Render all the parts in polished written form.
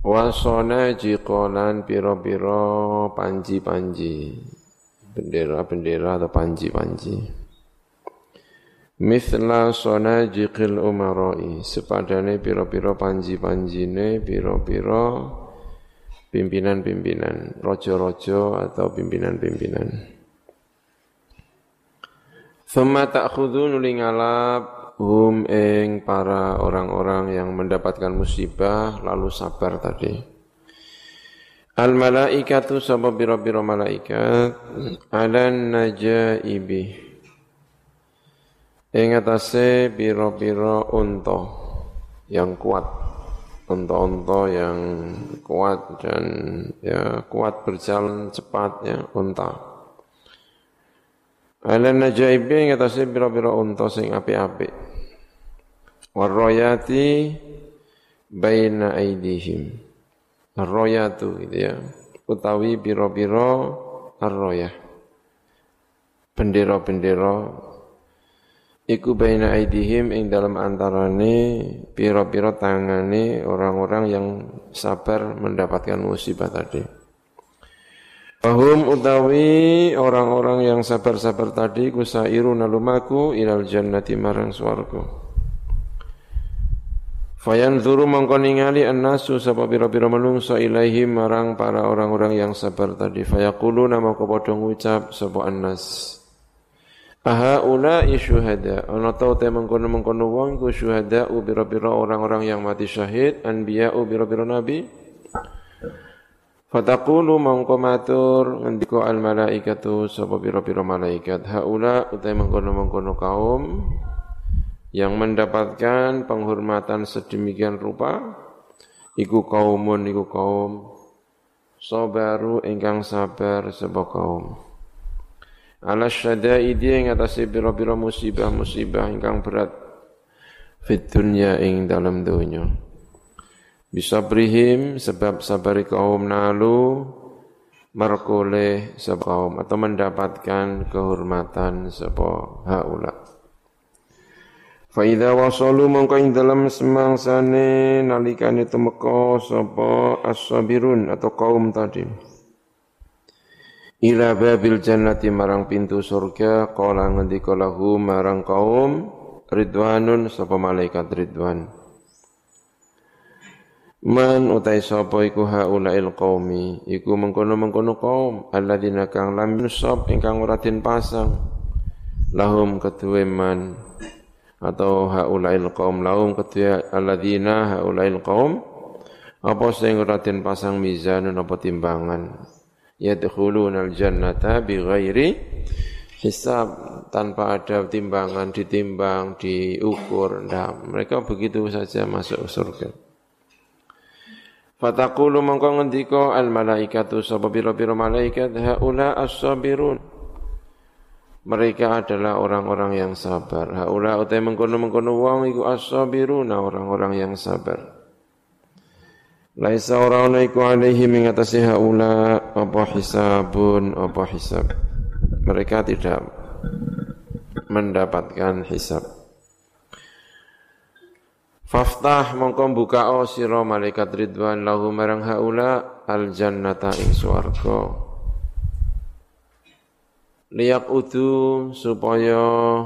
Wasona jikolan piro-piro panji-panji, bendera-bendera atau panji-panji. Mithla sona jikil umaroi, sepadane piro-piro panji-panjine, piro-piro pimpinan-pimpinan, rojo-rojo atau pimpinan-pimpinan. Thumma ta'khudhu nulingalap hum ing para orang-orang yang mendapatkan musibah lalu sabar tadi. Al malaikatu sapa biro-biro malaikat alan najaibi ing atase biro-biro unta yang kuat, unta-unta yang kuat dan ya kuat berjalan cepat ya unta. Alan najaibi ing atase biro-biro unta sing apik-apik. Warroyati baina aidihim. Arroyatu gitu ya. Utawi biro-biro arroyah. Bendera-bendera iku baina aidihim ing dalam antarane biro-biro tangane orang-orang yang sabar mendapatkan musibah tadi. Wahum utawi orang-orang yang sabar-sabar tadi kusairuna lumaku ilal jannati marang swarga. Fayanzuru mongko ningali annasu sapa pira-pira manungsa ilaihim marang para orang-orang yang sabar tadi. Fayaquluna mongko padha ngucap sapa annas. Aha ulai syuhada. Ana ta te mengkono-mengkono wong iku syuhada pira-pira orang-orang yang mati syahid, anbiya pira-pira nabi. Fataqulu mongko matur ngendika al malaikatu sapa pira-pira malaikat. Haula utai mengkono-mengkono kaum yang mendapatkan penghormatan sedemikian rupa iku kaumun iku kaum sabaru ingkang sabar sapa kaum ala syadaidi ing atase pira-pira musibah-musibah ingkang berat fit dunya ing dalam donya bisabrihim sebab sabari kaum nalu markoleh sapa kaum atau mendapatkan kehormatan sapa haula. Fa idza wasalu mongko ing dalem semangsane nalikane temeka sapa as-sabirun atau kaum tadi ila babil jannati marang pintu surga qala ngendika lahu marang kaum ridwanun sapa malaikat ridwan man utai sapa iku haulail qaumi iku mengkono-mengkono kaum alladzina kang lam yusab ingkang ora den pasang lahum kedue man atau haulail qaum lahum kedua alladzina haulail qaum apa sing ora den pasang mizanun apa timbangan yadkhulunal jannata bighairi hisab tanpa ada timbangan ditimbang diukur mereka begitu saja masuk surga. Fataqulu mongko ngendika al malaikatu sapa pira-pira malaikat haula as-sabirun mereka adalah orang-orang yang sabar. Haula utai mengkono-mengkono wong iku as-sabiruna orang-orang yang sabar. Laisa ora iku alaihi ing atase haula apa hisabun apa hisab. Mereka tidak mendapatkan hisab. Faftah mongko buka sira malaikat ridwan lahu marang haula al jannata ing swarga. Liyak udu supaya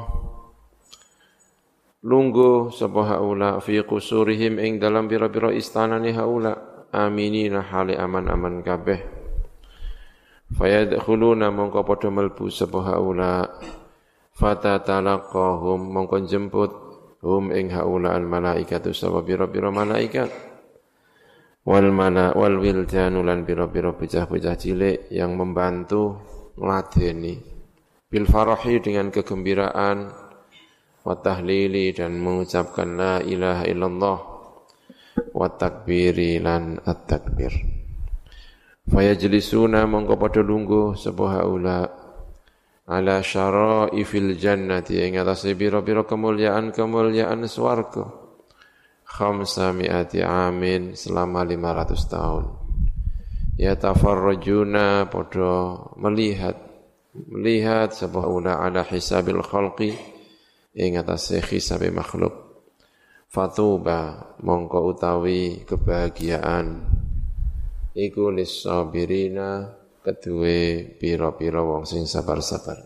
lungguh sapa haula fi qusurihim ing dalam pira-pira istanane haula aminina hale aman-aman kabeh fayadkhuluna mongko padha mlebu sapa haula fatatalaqahum mongko jemput hum ing haula al malaikatu sapa pira-pira malaikat wal wildanu lan pira-pira bocah-bocah cilik yang membantu ngladeni bil farahi dengan kegembiraan wa tahlili dan mengucapkan la ilaha illallah wa takbiri lan at-takbir fayajlisuna mongko padha lungguh sapa haula ala syara'ifil jannati ing atase pira-pira kemuliaan swarga 500 amin selama 500 tahun yatafarrajuna padha melihat sapa haula ala hisabil khalqi ing atase hisabe makhluk fatuba mongko utawi kebahagiaan iku lis-sabirina kedue pira-pira wong sing sabar-sabar.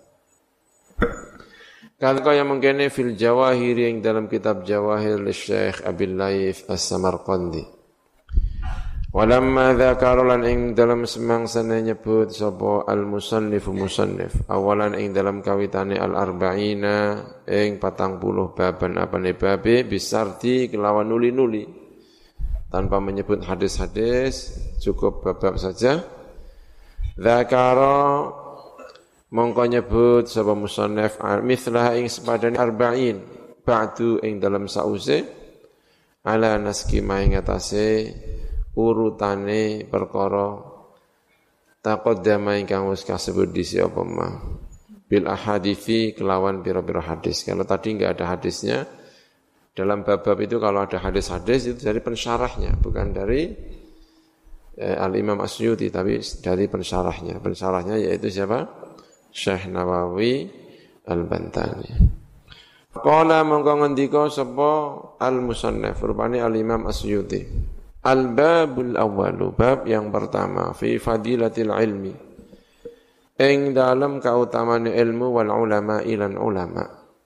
Kan kaya mengkene fil Jawahir yang dalam kitab Jawahir Syekh Abil Laith As-Samarqandi. Walamma dzakarulan ing dalam semangsane nyebut sapa al-musannif awalan ing dalam kawitane al-arba'ina ing 40 baban apane babe bisarti kelawan nuli-nuli tanpa menyebut hadis-hadis cukup bab saja. Dzakara mongko nyebut sapa musannif mithlah ing sepadane arba'in ba'du ing dalam sause ala naski ing atase urutane perkara taqaddama ingkang wis kasebut disi apa ma bil ahadithi kelawan pira-pira hadis. Kalau tadi enggak ada hadisnya dalam bab-bab itu, kalau ada hadis-hadis itu dari pensyarahnya, bukan dari Al-Imam Asyuti, tapi dari pensyarahnya. Pensyarahnya yaitu siapa? Syekh Nawawi Al-Bantani. Qala mongko ngendika sapa al-musannif rupane Al-Imam Asyuti. Al-babul awwalu, bab yang pertama fi fadilatil ilmi. Ing dalam kautamaan ilmu wal ulama ilan ulama.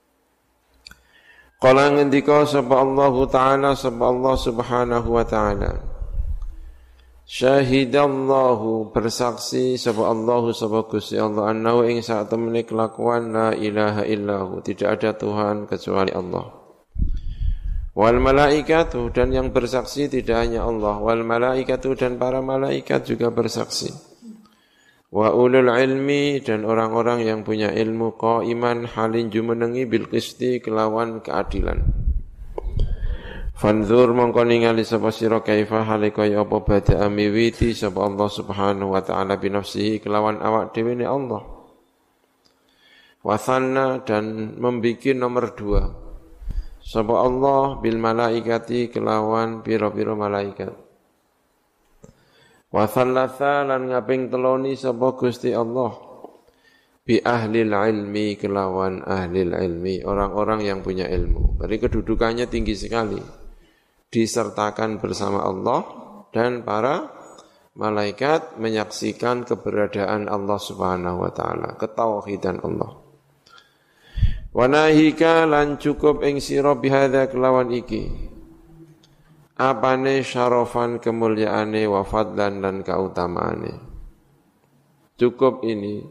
Qala ngendika sapa Allah Ta'ala sapa Allah Subhanahu wa Ta'ala. Syahidallahu bersaksi sapa Allah sapa Gusti Allah annahu ing sak temene kelakuan la ilaha illahu tidak ada Tuhan kecuali Allah. Wal malaikatu dan yang bersaksi tidak hanya Allah, wal malaikatu dan para malaikat juga bersaksi. Wa ulul ilmi dan orang-orang yang punya ilmu qaiman halin jumenengi bil qisti kelawan keadilan. Fanzur mongko ningali sapa sira kaifa hale kaya apa bada miwiti sapa Allah Subhanahu wa taala bi nafsihi kelawan awak dhewe ne Allah. Wa sanna dan membikin nomor 2 sapa Allah bil malaikati kelawan pira-pira malaikat. Wa thalatha lan ngaping teloni sapa Gusti Allah bi ahlil ilmi kelawan ahlil ilmi orang-orang yang punya ilmu. Berarti kedudukannya tinggi sekali. Disertakan bersama Allah dan para malaikat menyaksikan keberadaan Allah Subhanahu wa taala, ketauhidan Allah. Wa nahika lan cukup ing sira bihadza kelawan iki. Apane syarafan kemuliaane wa fadlan lan kautamaane. Cukup ini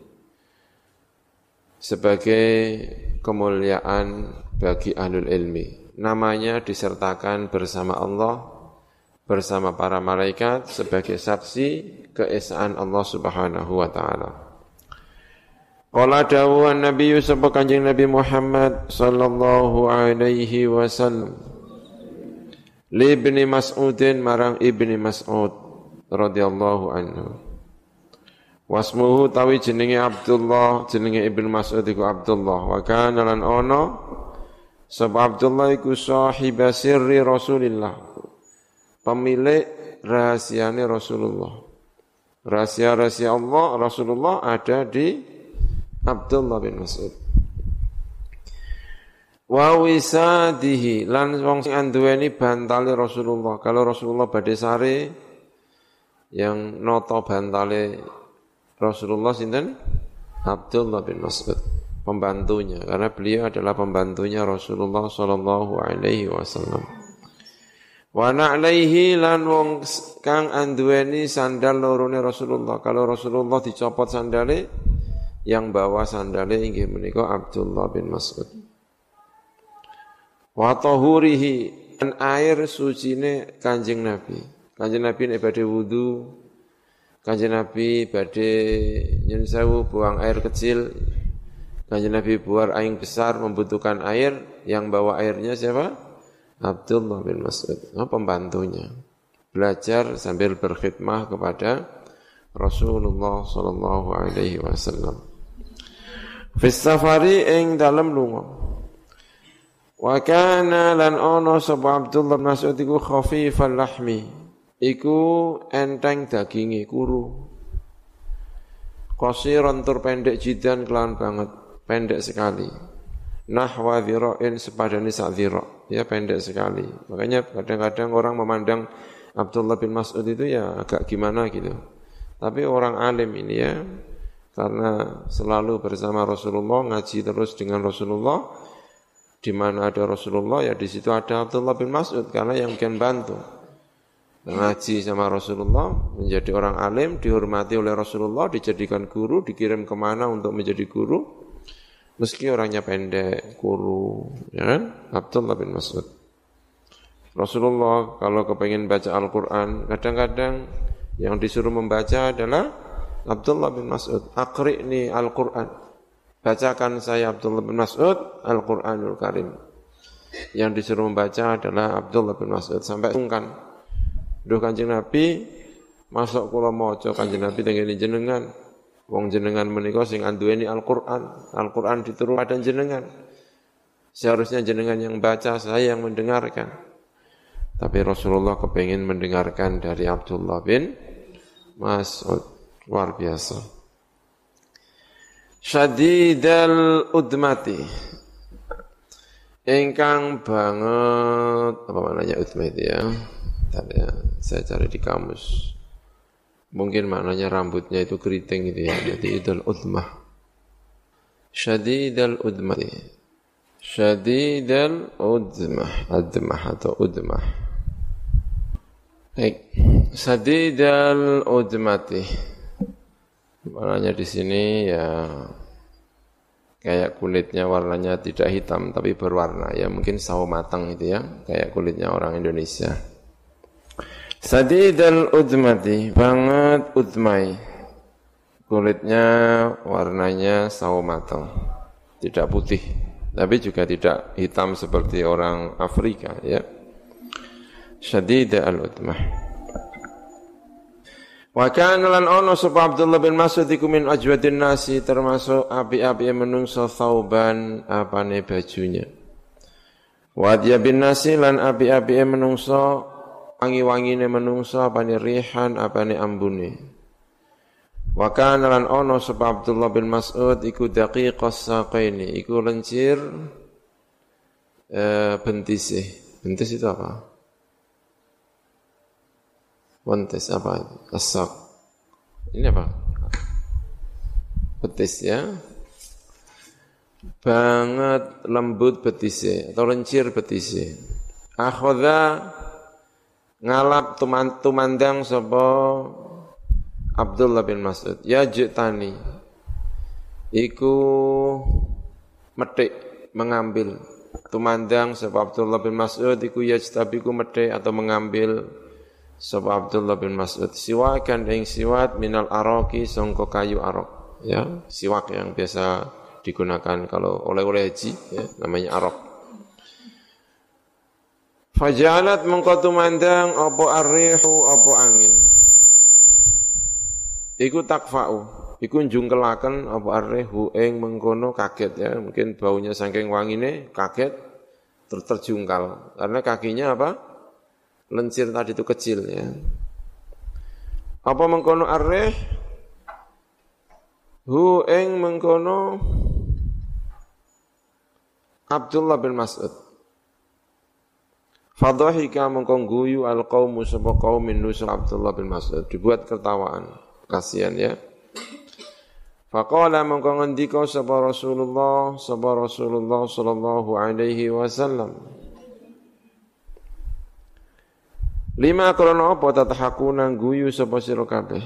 sebagai kemuliaan bagi ahlul ilmi. Namanya disertakan bersama Allah, bersama para malaikat sebagai saksi keesaan Allah Subhanahu wa taala. Qala dawuhan Nabi sapa Kanjeng Nabi Muhammad sallallahu alaihi wasallam li Ibni Mas'udin marang Ibni Mas'ud radhiyallahu anhu. Wasmuhu tawi jenenge Abdullah, jenenge Ibnu Mas'ud iku Abdullah wa kana lan ono sapa Abdullah iku sahib sirri Rasulillah, pemilik rahasiane Rasulullah. Rahasia-rahasia Allah Rasulullah ada di Abdullah bin Mas'ud. Wa wisadihi lan wong sing anduweni bantale Rasulullah. Kalau Rasulullah badhe sare yang noto bantale Rasulullah sinten? Abdullah bin Mas'ud, pembantunya, karena beliau adalah pembantunya Rasulullah sallallahu alaihi wasallam. Wa na'laihi lan wong kang anduweni sandal lorone Rasulullah. Kalau Rasulullah dicopot sandale, yang bawa sandale inggih menika Abdullah bin Mas'ud. Wa tahurihi an air sucine Kanjeng Nabi. Kanjeng Nabi nek badhe wudu, Kanjeng Nabi badhe nyun sewu buang air kecil, Kanjeng Nabi buang air besar membutuhkan air, yang bawa airnya siapa? Abdullah bin Mas'ud, pembantunya. Belajar sambil berkhidmah kepada Rasulullah sallallahu alaihi wasallam. Fis safari ing dalem lunga. Wa kana lan ono sapa Abdullah bin Mas'ud iku khafifal lahmi, iku enteng daginge kuru. Qasiran tur pendek jidan kelawan banget, pendek sekali. Nahwa dhira'in sepadane sak dhira', ya pendek sekali. Makanya kadang-kadang orang memandang Abdullah bin Mas'ud itu ya agak gimana gitu. Tapi orang alim ini ya, karena selalu bersama Rasulullah, ngaji terus dengan Rasulullah, di mana ada Rasulullah ya di situ ada Abdullah bin Mas'ud, karena yang bikin bantu. Ngaji sama Rasulullah, menjadi orang alim, dihormati oleh Rasulullah, dijadikan guru, dikirim kemana untuk menjadi guru, meski orangnya pendek, kuru, ya kan? Abdullah bin Mas'ud. Rasulullah kalau kepengen baca Al-Quran, kadang-kadang yang disuruh membaca adalah Abdullah bin Mas'ud. Aqri'ni Al-Quran. Bacakan saya Abdullah bin Mas'ud Al-Quranul Karim. Yang disuruh membaca adalah Abdullah bin Mas'ud. Sampai sungkan. Duh Kanjeng Nabi, masuk kula maca Kanjeng Nabi tengene jenengan. Wong jenengan menika sing anduweni Al-Quran. Al-Quran diturun pada jenengan. Seharusnya jenengan yang baca, saya yang mendengarkan. Tapi Rasulullah kepingin mendengarkan dari Abdullah bin Mas'ud. Luar biasa. Syadidal udmati. Ingkang banget, apa maknanya udmah itu ya? Bentar ya, saya cari di kamus. Mungkin maknanya rambutnya itu keriting gitu ya. Jadi itu udmah. Syadidal udmati. Syadidal udmah. Admah atau udmah. Baik, sadidal udmati. Maknanya di sini ya kayak kulitnya warnanya tidak hitam tapi berwarna ya, mungkin sawo matang itu ya, kayak kulitnya orang Indonesia. Sadidal udmati, banget udmai. Kulitnya warnanya sawo matang. Tidak putih, tapi juga tidak hitam seperti orang Afrika ya. Syadida al-udmah. Wa kana lan ono sapa Abdullah bin Mas'ud iku min ajwadin nasi, termasuk api-api menungso thauban apane bajunya. Wa dia bin nasi lan api-api menungso wangi-wangine menungso apane rihan apane ambune. Wa kana lan ono sapa Abdullah bin Mas'ud iku daqiqas saqaini, iku lencir bentise. Bentis itu apa? Wentes apa? Asak. Ini apa? Betis ya. Banget lembut betise atau lencir betise. Akhadha ngalap tumandang sapa Abdullah bin Mas'ud. Ya jitani. Iku metik mengambil. Tumandang sapa Abdullah bin Mas'ud iku yajtabiku metik atau mengambil sapa Abdullah bin Mas'ud siwakan ing siwat minal araqi sangka kayu araq ya, siwak yang biasa digunakan kalau oleh-oleh haji ya, namanya araq. Fajalat mengko tumandang apa arrihu apa angin iku takfa'u iku njungkelaken apa arrihu ing mengkono kaget ya, mungkin baunya saking wangine kaget terjungkal karena kakinya apa? Lencir tadi itu kecil ya. Apa mengkono arreh? Hu ing mengkono Abdullah bin Mas'ud. Fadhahika mengko guyu alqaumu sapa kaum min nusul Abdullah bin Mas'ud, dibuat ketawaan. Kasihan ya. Faqala mengko ngendika sapa Rasulullah sallallahu alaihi wasallam. Lima krono apa tatahakuna guyu sapa sira kabeh.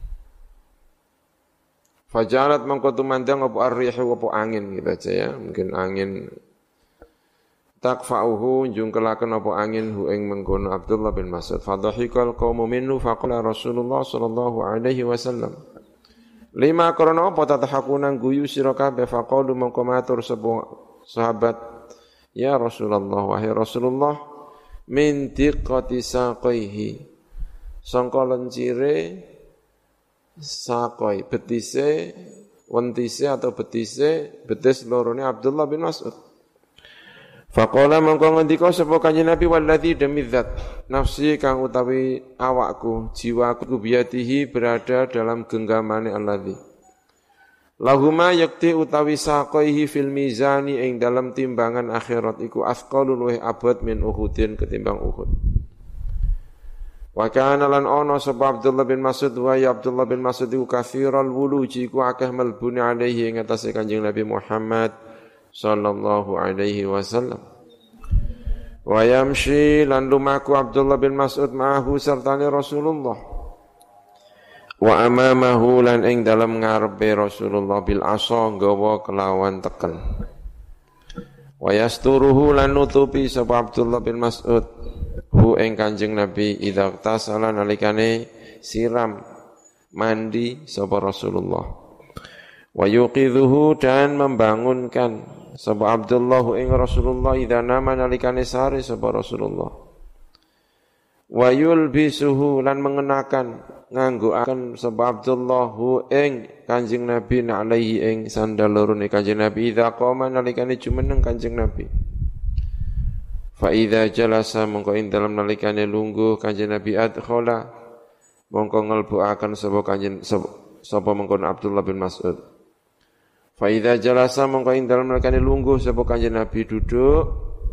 Fajalat mangko tumandang apa arrihu apa angin gitu aja ya, mungkin angin takfa'uhu jungkelaken apa angin hu ing mengkono Abdullah bin Mas'ud. Fadhahikal qaumu minhu faqala Rasulullah sallallahu alaihi wasallam. Lima krono apa tatahakuna guyu sira kabeh faqalu mangko matur sapa sahabat, ya Rasulullah wahai Rasulullah min diqqati saqaihi sangka lencire saqai betise wentise atau betise betis lorone Abdullah bin Mas'ud. Faqala mangko ngendika sapa Kanjeng Nabi wallazi demi zat nafsi kang utawi awakku jiwaku biyatihi berada dalam genggamane allazi lahuma yakti utawi saqaihi fil mizani ing dalam timbangan akhirat iku asqalun wa abad min Uhudin ketimbang Uhud. Wa kana lan ana sapa Abdullah bin Mas'ud wa ya Abdullah bin Mas'ud iku katsiral wuluji ku akeh melbune alaihi ing atase Kanjeng Nabi Muhammad sallallahu alaihi wasallam. Wa yamshi lan lumaku Abdullah bin Mas'ud ma'ahu sertane Rasulullah. Wa amamahu lan ing dalem ngarepe Rasulullah bil asa nggawa kelawan teken. Wa yasturuhu lan nutupi sapa Abdullah bin Mas'ud hu ing Kanjeng Nabi idza tasala nalikane siram mandi sapa Rasulullah. Wa yuqidhuhu dan membangunkan sapa Abdullah ing Rasulullah idza nama nalikane sare sapa Rasulullah. Wa yulbisuhu lan mengenakan nganggoaken sapa Abdullah ing Kanjeng Nabi alaihi ing sandal lorone Kanjeng Nabi idza qama nalikane jumeneng Kanjeng Nabi. Fa idza jalasa mongko ing dalem nalikane lungguh Kanjeng Nabi adkhala mongko ngelbuaken sapa Kanjeng sapa mongkon Abdullah bin Mas'ud. Fa idza jalasa mongko ing dalem nalikane lungguh sapa Kanjeng Nabi duduk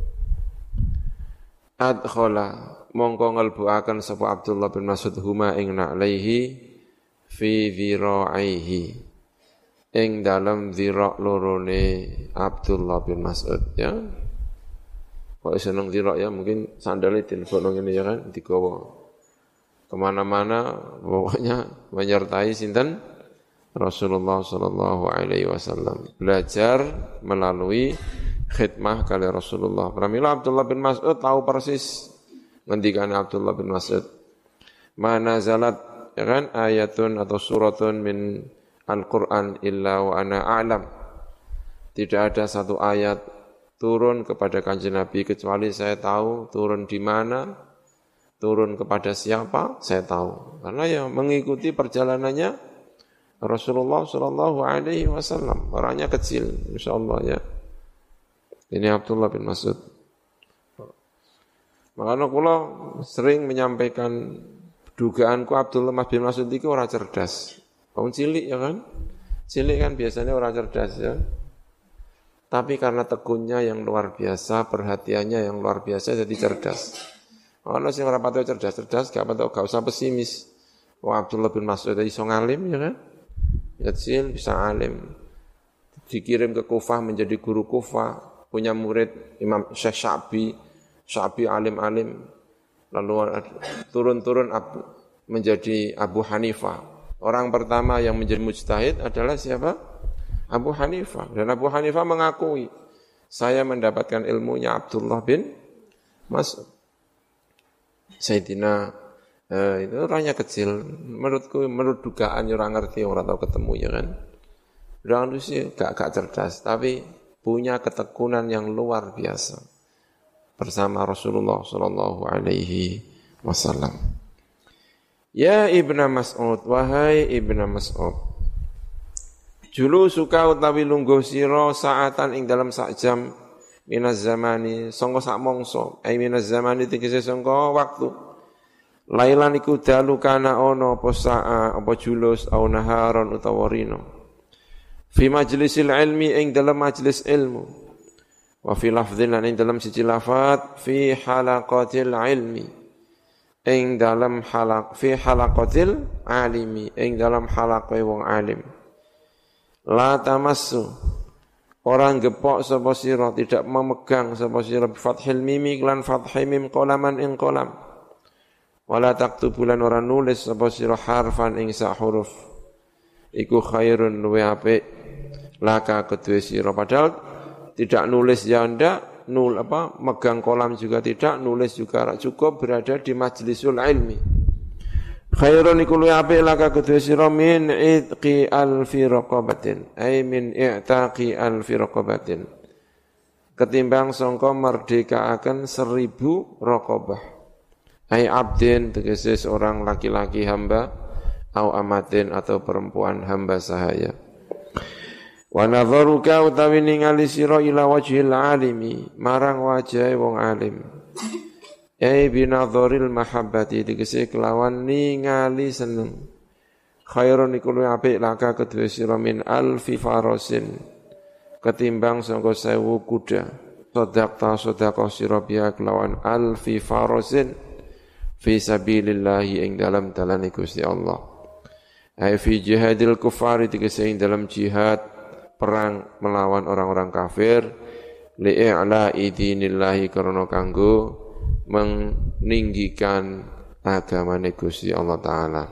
adkhala mongko ngelbuaken sapa Abdullah bin Mas'ud huma ing na'laihi fi dhira'ihi ing dalam dhira' lorone Abdullah bin Mas'ud ya. Kok seneng dhira' ya mungkin sandalnya dilebokno ngene ya kan digawa kemana-mana pokoknya menyertai sinten Rasulullah sallallahu alaihi wasallam belajar melalui khidmah kali Rasulullah. Pramila Abdullah bin Mas'ud tahu persis ngendikan Abdullah bin Mas'ud mana zalat ya kan ayatun atau suratun min Al-Qur'an illa wa ana a'lam. Tidak ada satu ayat turun kepada Kanjeng Nabi kecuali saya tahu turun di mana, turun kepada siapa, saya tahu. Karena yang mengikuti perjalanannya Rasulullah sallallahu alaihi wasallam, orangnya kecil insyaallah ya. Ini Abdullah bin Mas'ud. Makanya kula sering menyampaikan dugaanku Abdullah bin Mas'ud itu orang cerdas. Wong cilik ya kan? Cilik kan biasanya orang cerdas ya. Tapi karena tekunnya yang luar biasa, perhatiannya yang luar biasa jadi cerdas. Ana sing ora patut cerdas-cerdas, gak usah pesimis. Wah Abdullah bin Mas'ud iso ngalim ya kan? Kecil bisa alim. Dikirim ke Kufah menjadi guru Kufah, punya murid Imam Syekh Syafi'i alim-alim, lalu turun-turun menjadi Abu Hanifah. Orang pertama yang menjadi mujtahid adalah siapa? Abu Hanifah. Dan Abu Hanifah mengakui, saya mendapatkan ilmunya Abdullah bin Mas'ud. Sayyidina itu orangnya kecil, menurut dugaan orang ngerti, orang tahu ketemu ya kan. Orang itu sih gak cerdas, tapi punya ketekunan yang luar biasa bersama Rasulullah sallallahu alaihi wasallam. Ya Ibnu Mas'ud, wahai Ibnu Mas'ud. Julu suka utawi lungguh sira saatan ing dalam sak jam minaz zamani, sangka sak mangsa, ai minaz zamani tegese sangka waktu. Lailan iku dalu kana ana apa sa'a apa julus au naharon utawa rino. Fi majlisil ilmi ing dalam majlis ilmu. Wa fi lafdhin lan ing dalam siji lafat fi halaqatil ilmi ing dalam fi halaqatil alimi ing dalam halaqah wong alim. La tamassu orang gepok sapa sira tidak memegang sapa sira bi fathil mim lan fathhi mim qalaman ing qalam. Wala taktubulan ora nulis sapa sira harfan ing sak huruf. Iku khairun luwe apik laka kedue sira padahal tidak nulis ya ndak, megang kolam juga tidak, nulis juga cukup berada di majlisul ilmi. Khairun iku luwih apik laka kedue sira min itqi alfi raqabatin, ay min i'taqi alfi raqabatin. Ketimbang sangka merdekaaken 1000 raqabah. Ay abdin tegese seorang laki-laki hamba, au amatin atau perempuan hamba sahaya. Wa nadharuka utawi ningali sira ila wajhil alimi marang wajahe wong alim. Binadharil mahabbati tegese kelawan ningali seneng. Khairun iku luwih apik laka kedue sira min alfi farasin ketimbang sangka 1000 kuda. Sedaqah sira biya kelawan alfi farasin. fi sabilillahi ing dalam dalane Gusti Allah. Ai fi jihadil kufari tegese ing dalam jihad perang melawan orang-orang kafir li'a'la'i dinillahi karena kanggo meninggikan agamane Gusti Allah taala.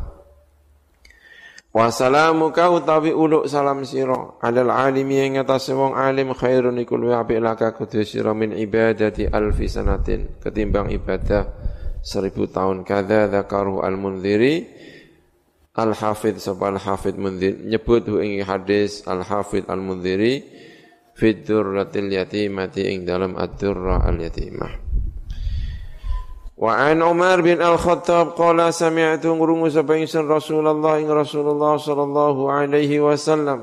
Wassalamuka utawi uluk salam sira alal alimi ing atase wong alim khairun iku luwih apik laka kudu sira min ibadati alfi sanatin ketimbang ibadah 1000 tahun. Kadza dzakaru al-Mundziri al-Hafidz sapa al-Hafidz Mundzir nyebut ing hadis al-Hafidz al-Mundziri fi dzurratil yatimati ing dalam ad-dzurrah al-yatimah. Wa an Umar bin Al-Khattab qala sami'tu ngurungu sapa ingsun Rasulullah sallallahu alaihi wasallam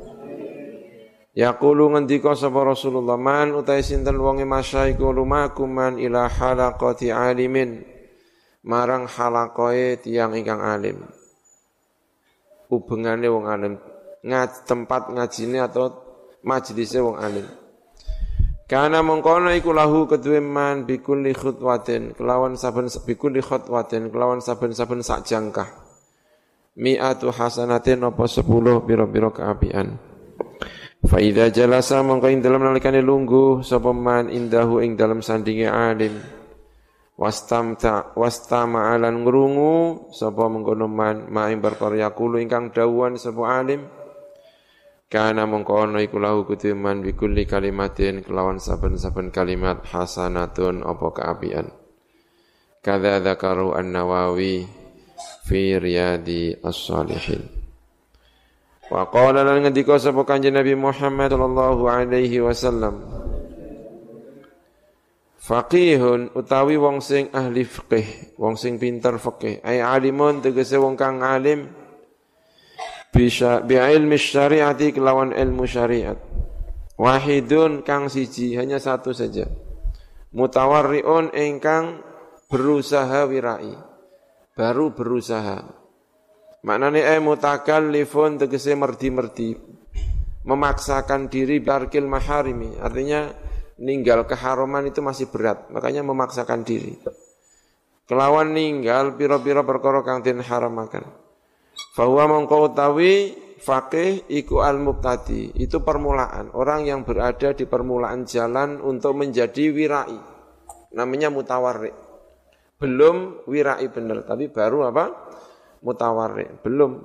yaqulu ngendika sapa Rasulullah man utai sinten wonge masyaiku lumakum man ila halaqati alimin marang halaqae tiyang ingkang alim hubungane wong alim tempat ngajine atau majelise wong alim. Kana mengkono iku lahu kedue man bikulli khutwatin kelawan saben-saben sak jangkah. Mi'atu hasanatin apa 10 pira-pira kaapian. Fa idza jalasa mongko ing dalem nalikane lungguh sapa man indahu ing dalem sandinge alim. Wastama'alan ngrungu sapa mengkono man ma ing perkara yaqulu ingkang dawuhan sapa alim. Kana mengkono iku lahu kudu man bikulli kalimatin kelawan saben-saben kalimat hasanatun apa kaapian. Kadza dzakaru an-Nawawi fi Riyadi as-Shalihin. Wa qala lan ngendika sapa Kanjeng Nabi Muhammad sallallahu alaihi wasallam faqihun utawi wong sing ahli fikih, wong sing pinter fikih, ai alimun tegese wong kang alim bi'ilmi syariati kelawan ilmu syariat. Wahidun kang siji hanya satu saja. Mutawarriun ingkang berusaha wirai. Baru berusaha. Maknane mutakallifun tegese merdi-merdi. Memaksakan diri barkil maharimi. Artinya ninggal keharaman itu masih berat. Makanya memaksakan diri. Kelawan ninggal pira-pira perkara kang den haramaken. Fahuwa mongko utawi faqih iku al-mubtadi, itu permulaan, orang yang berada di permulaan jalan untuk menjadi wirai. Namanya mutawarri. Belum wirai benar, tapi baru apa? Mutawarri, belum.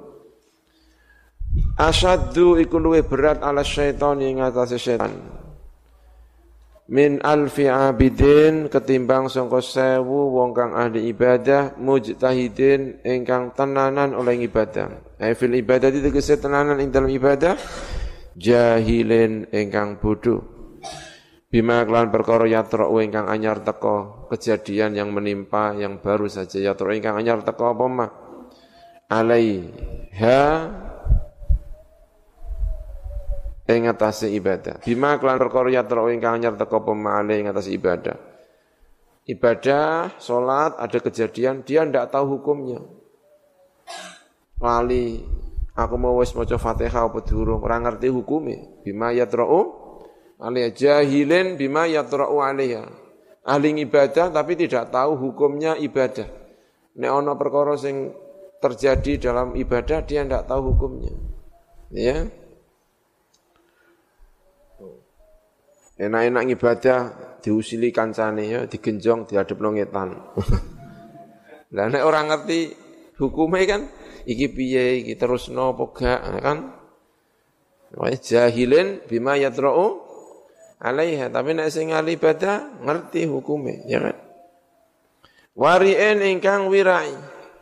Asyaddu iku luwih berat ala syaitan yang atase syaitan. Min alfi abidin ketimbang sangka 1000 wong kang ahli ibadah mujtahidin ingkang tenanan oleh ibadah. Fil ibadah tegese tenanan ing dalam ibadah jahilin ingkang bodoh. Bima kelan perkara yatra'u ingkang anyar teka kejadian yang menimpa yang baru saja yatra'u ingkang anyar teka apa mah alaiha ing atase ibadah. Bima kelan perkara yatra ingkang anyar teka pemale ing atase ibadah. Ibadah, salat ada kejadian dia ndak tahu hukumnya. Lali, aku mau wis maca Fatihah apa durung, ora ngerti hukume. Bima yatra'u alaiha jahilin bima yatra'u alaiha. Ahli ibadah tapi tidak tahu hukumnya ibadah. Nek ana perkara sing terjadi dalam ibadah dia ndak tahu hukumnya. Ya. Enak-enak ibadah diusili kancane ya, digenjong diadepno ngetan. Lah nek ora ngerti hukume kan iki piye, iki terusno apa gak kan? Wa jahilin bima yatra'u alaiha, tapi nek sing ahli ibadah ngerti hukume, ya kan? Wari'in ingkang wirai.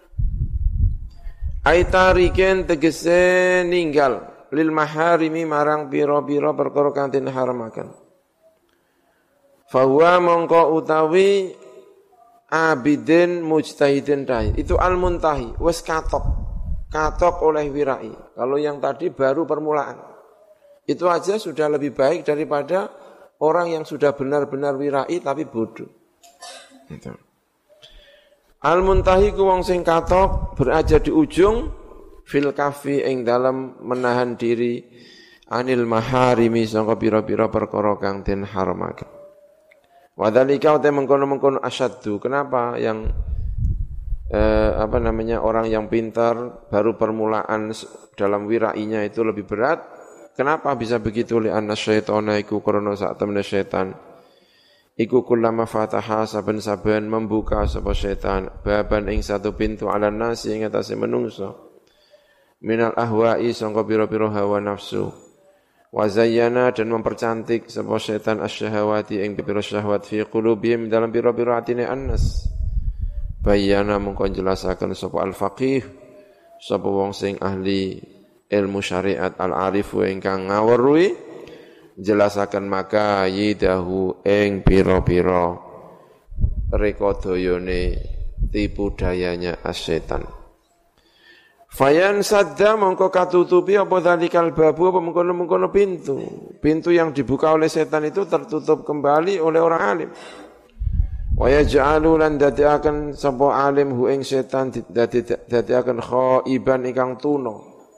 Aitariken tegese ninggal lil maharimi marang pira-pira perkara kang den haramaken. Fahuwa mongko utawi abidin mujtahidin dai. Itu al-muntahi, wis katok oleh wirai. Kalau yang tadi baru permulaan. Itu aja sudah lebih baik daripada orang yang sudah benar-benar wirai tapi bodoh. Gitu. Al-muntahi ku wong sing katok berada di ujung fil kafi ing dalam menahan diri anil maharimi sangka pira-pira perkara kang den haramaken. Wadhalika utai mengkono-mengkono asyaddu. Kenapa yang orang yang pintar baru permulaan dalam wirainya itu lebih berat. Kenapa bisa begitu? Li'anna syaitana iku krana sak temene setan iku kullama fataha saben-saben membuka sapa setan baban ing satu pintu ala nasi ing atase menungso minal ahwa'i sangka pira-pira hawa nafsu wa zayyana dan mempercantik sapa setan asyahawati ing pira syahwat fi qulubihim dalam pira-pira atine annas bayana mengko jelasaken sapa al-faqih sapa wong sing ahli ilmu syariat al-arifu ingkang ngaweruhi jelasaken maka yidahu ing pira-pira rekodayane tipu dayanya as-setan. Fayan sadda mongko katutupi apa dalikal babu apa mengkono-mengkono pintu. Pintu yang dibuka oleh setan itu tertutup kembali oleh orang alim. Wa yaj'alu lan dadiaken sapa alim hu ing setan dadiaken khaiban ingkang tuna.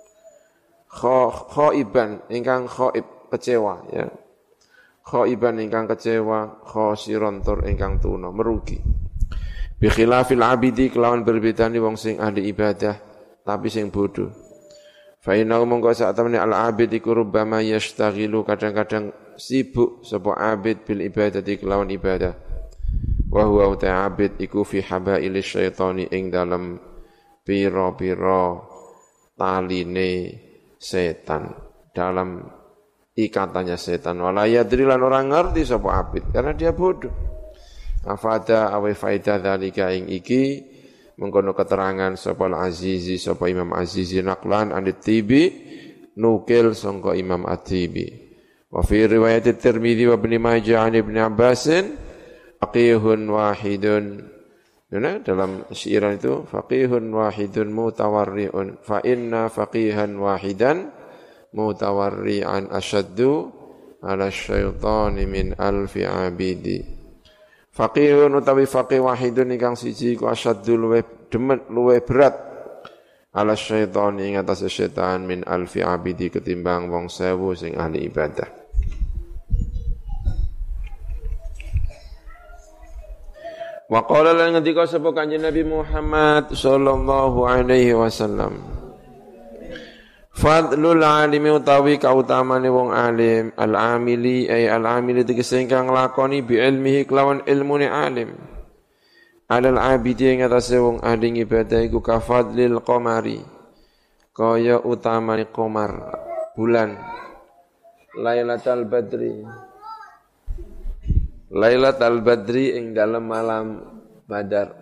Khaiban ingkang khaib kecewa ya. Khaiban ingkang kecewa, khosiron tur ingkang tuna merugi. Bi khilafil abidi kelawan berbedani wong sing ahli ibadah tapi sing bodoh. Fa inna mongko sak temene al-abid iku rubbama yashtaghilu kadang-kadang sibuk sapa abid bil ibadati kelawan ibadah. Wa huwa ta'abid iku fi habail syaitani ing dalem pira-pira taline setan, dalam ikatannya setan. Wala yadri lan orang ngerti sapa abid karena dia bodoh. Afada awe faida dzalika ing iki mengkono keterangan sapa al-Azizi sapa Imam Azizi naqlan an-Tibi nukil sangka Imam At-Tibi wa fi riwayat At-Tirmidzi wa Ibnu Majah an Ibnu Abbas faqihun wahidun dalam syiran itu faqihun wahidun mutawarri'un fa inna faqihan wahidan mutawarri'an asyaddu ala syaitani min alfi abidi. Faqihun utawi faqih wahidun ingkang siji ku asyaddu luweh demet luweh berat ala syaitan ing atase setan min alfi abidi ketimbang wong 1000 sing ahli ibadah. Wa qala lan ngendika sapa Kanjeng Nabi Muhammad sallallahu alaihi wasallam fadlul alimi utawi kautamane wong alim al-amili ay al-amili tegese ingkang nglakoni bi ilmihi kelawan ilmune alim alal abidi ing atase wong ahli ibadah iku kafadlil qamari kaya utamane qamar bulan lailatul badri ing dalem malam badar.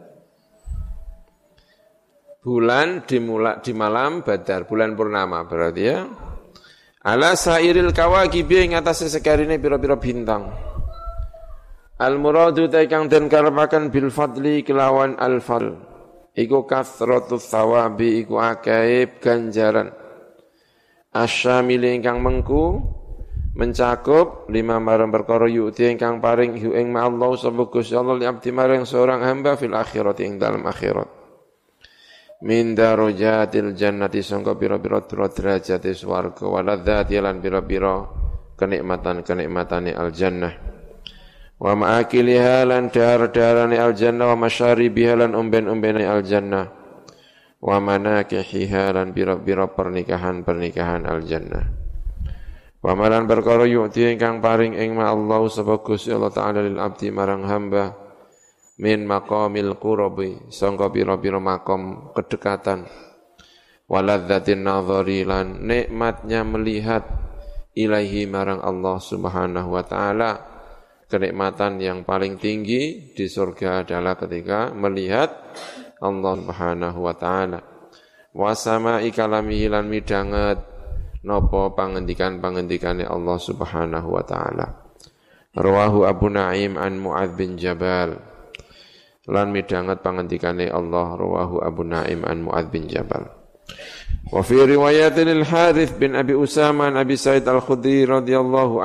Bulan di malam badar, bulan purnama berarti ya. Ala sairil kawakibi ing atase sekarine pira-pira bintang. Al muradu ta kang den karepaken bil fadli kelawan al fal. Iku kasratus thawabi iku akeh ganjaran. Asyamil ingkang mengku mencakup 5 marang perkara yu'ti ingkang paring hu ing Allah sapa Gusti Allah li abdi marang seorang hamba fil akhirat ing dalam akhirat. Min darajatil jannati sangka pira-pira derajate swarga waladzati lan pira-pira kenikmatan-kenikmatane al jannah wa ma'akiliha lan dar-darane al jannah wa masyaribiha lan umben-umbene al jannah wa manakihiha lan pira-pira pernikahan-pernikahan al jannah wa malan perkara yu'ti ingkang paring ing ma Allah sapa Gusti Allah taala lil abdi marang hamba min maqamil qurabi sangka pira-pira makom kedekatan waladzatin nadhari lan nikmatnya melihat ilahi marang Allah Subhanahu wa taala. Kenikmatan yang paling tinggi di surga adalah ketika melihat Allah Subhanahu wa taala. Wa sama'i kalamihi lan midhanget napa pangendikan-pangendikane Allah Subhanahu wa taala. Rawahu Abu Naim an Mu'adz bin Jabal. Lan midhanget pangendikane Allah rawahu Abu Naim an Mu'adz bin Jabal. Wa fi riwayatin al-Harits bin Abi Usama an Abi Sa'id al-Khudri radhiyallahu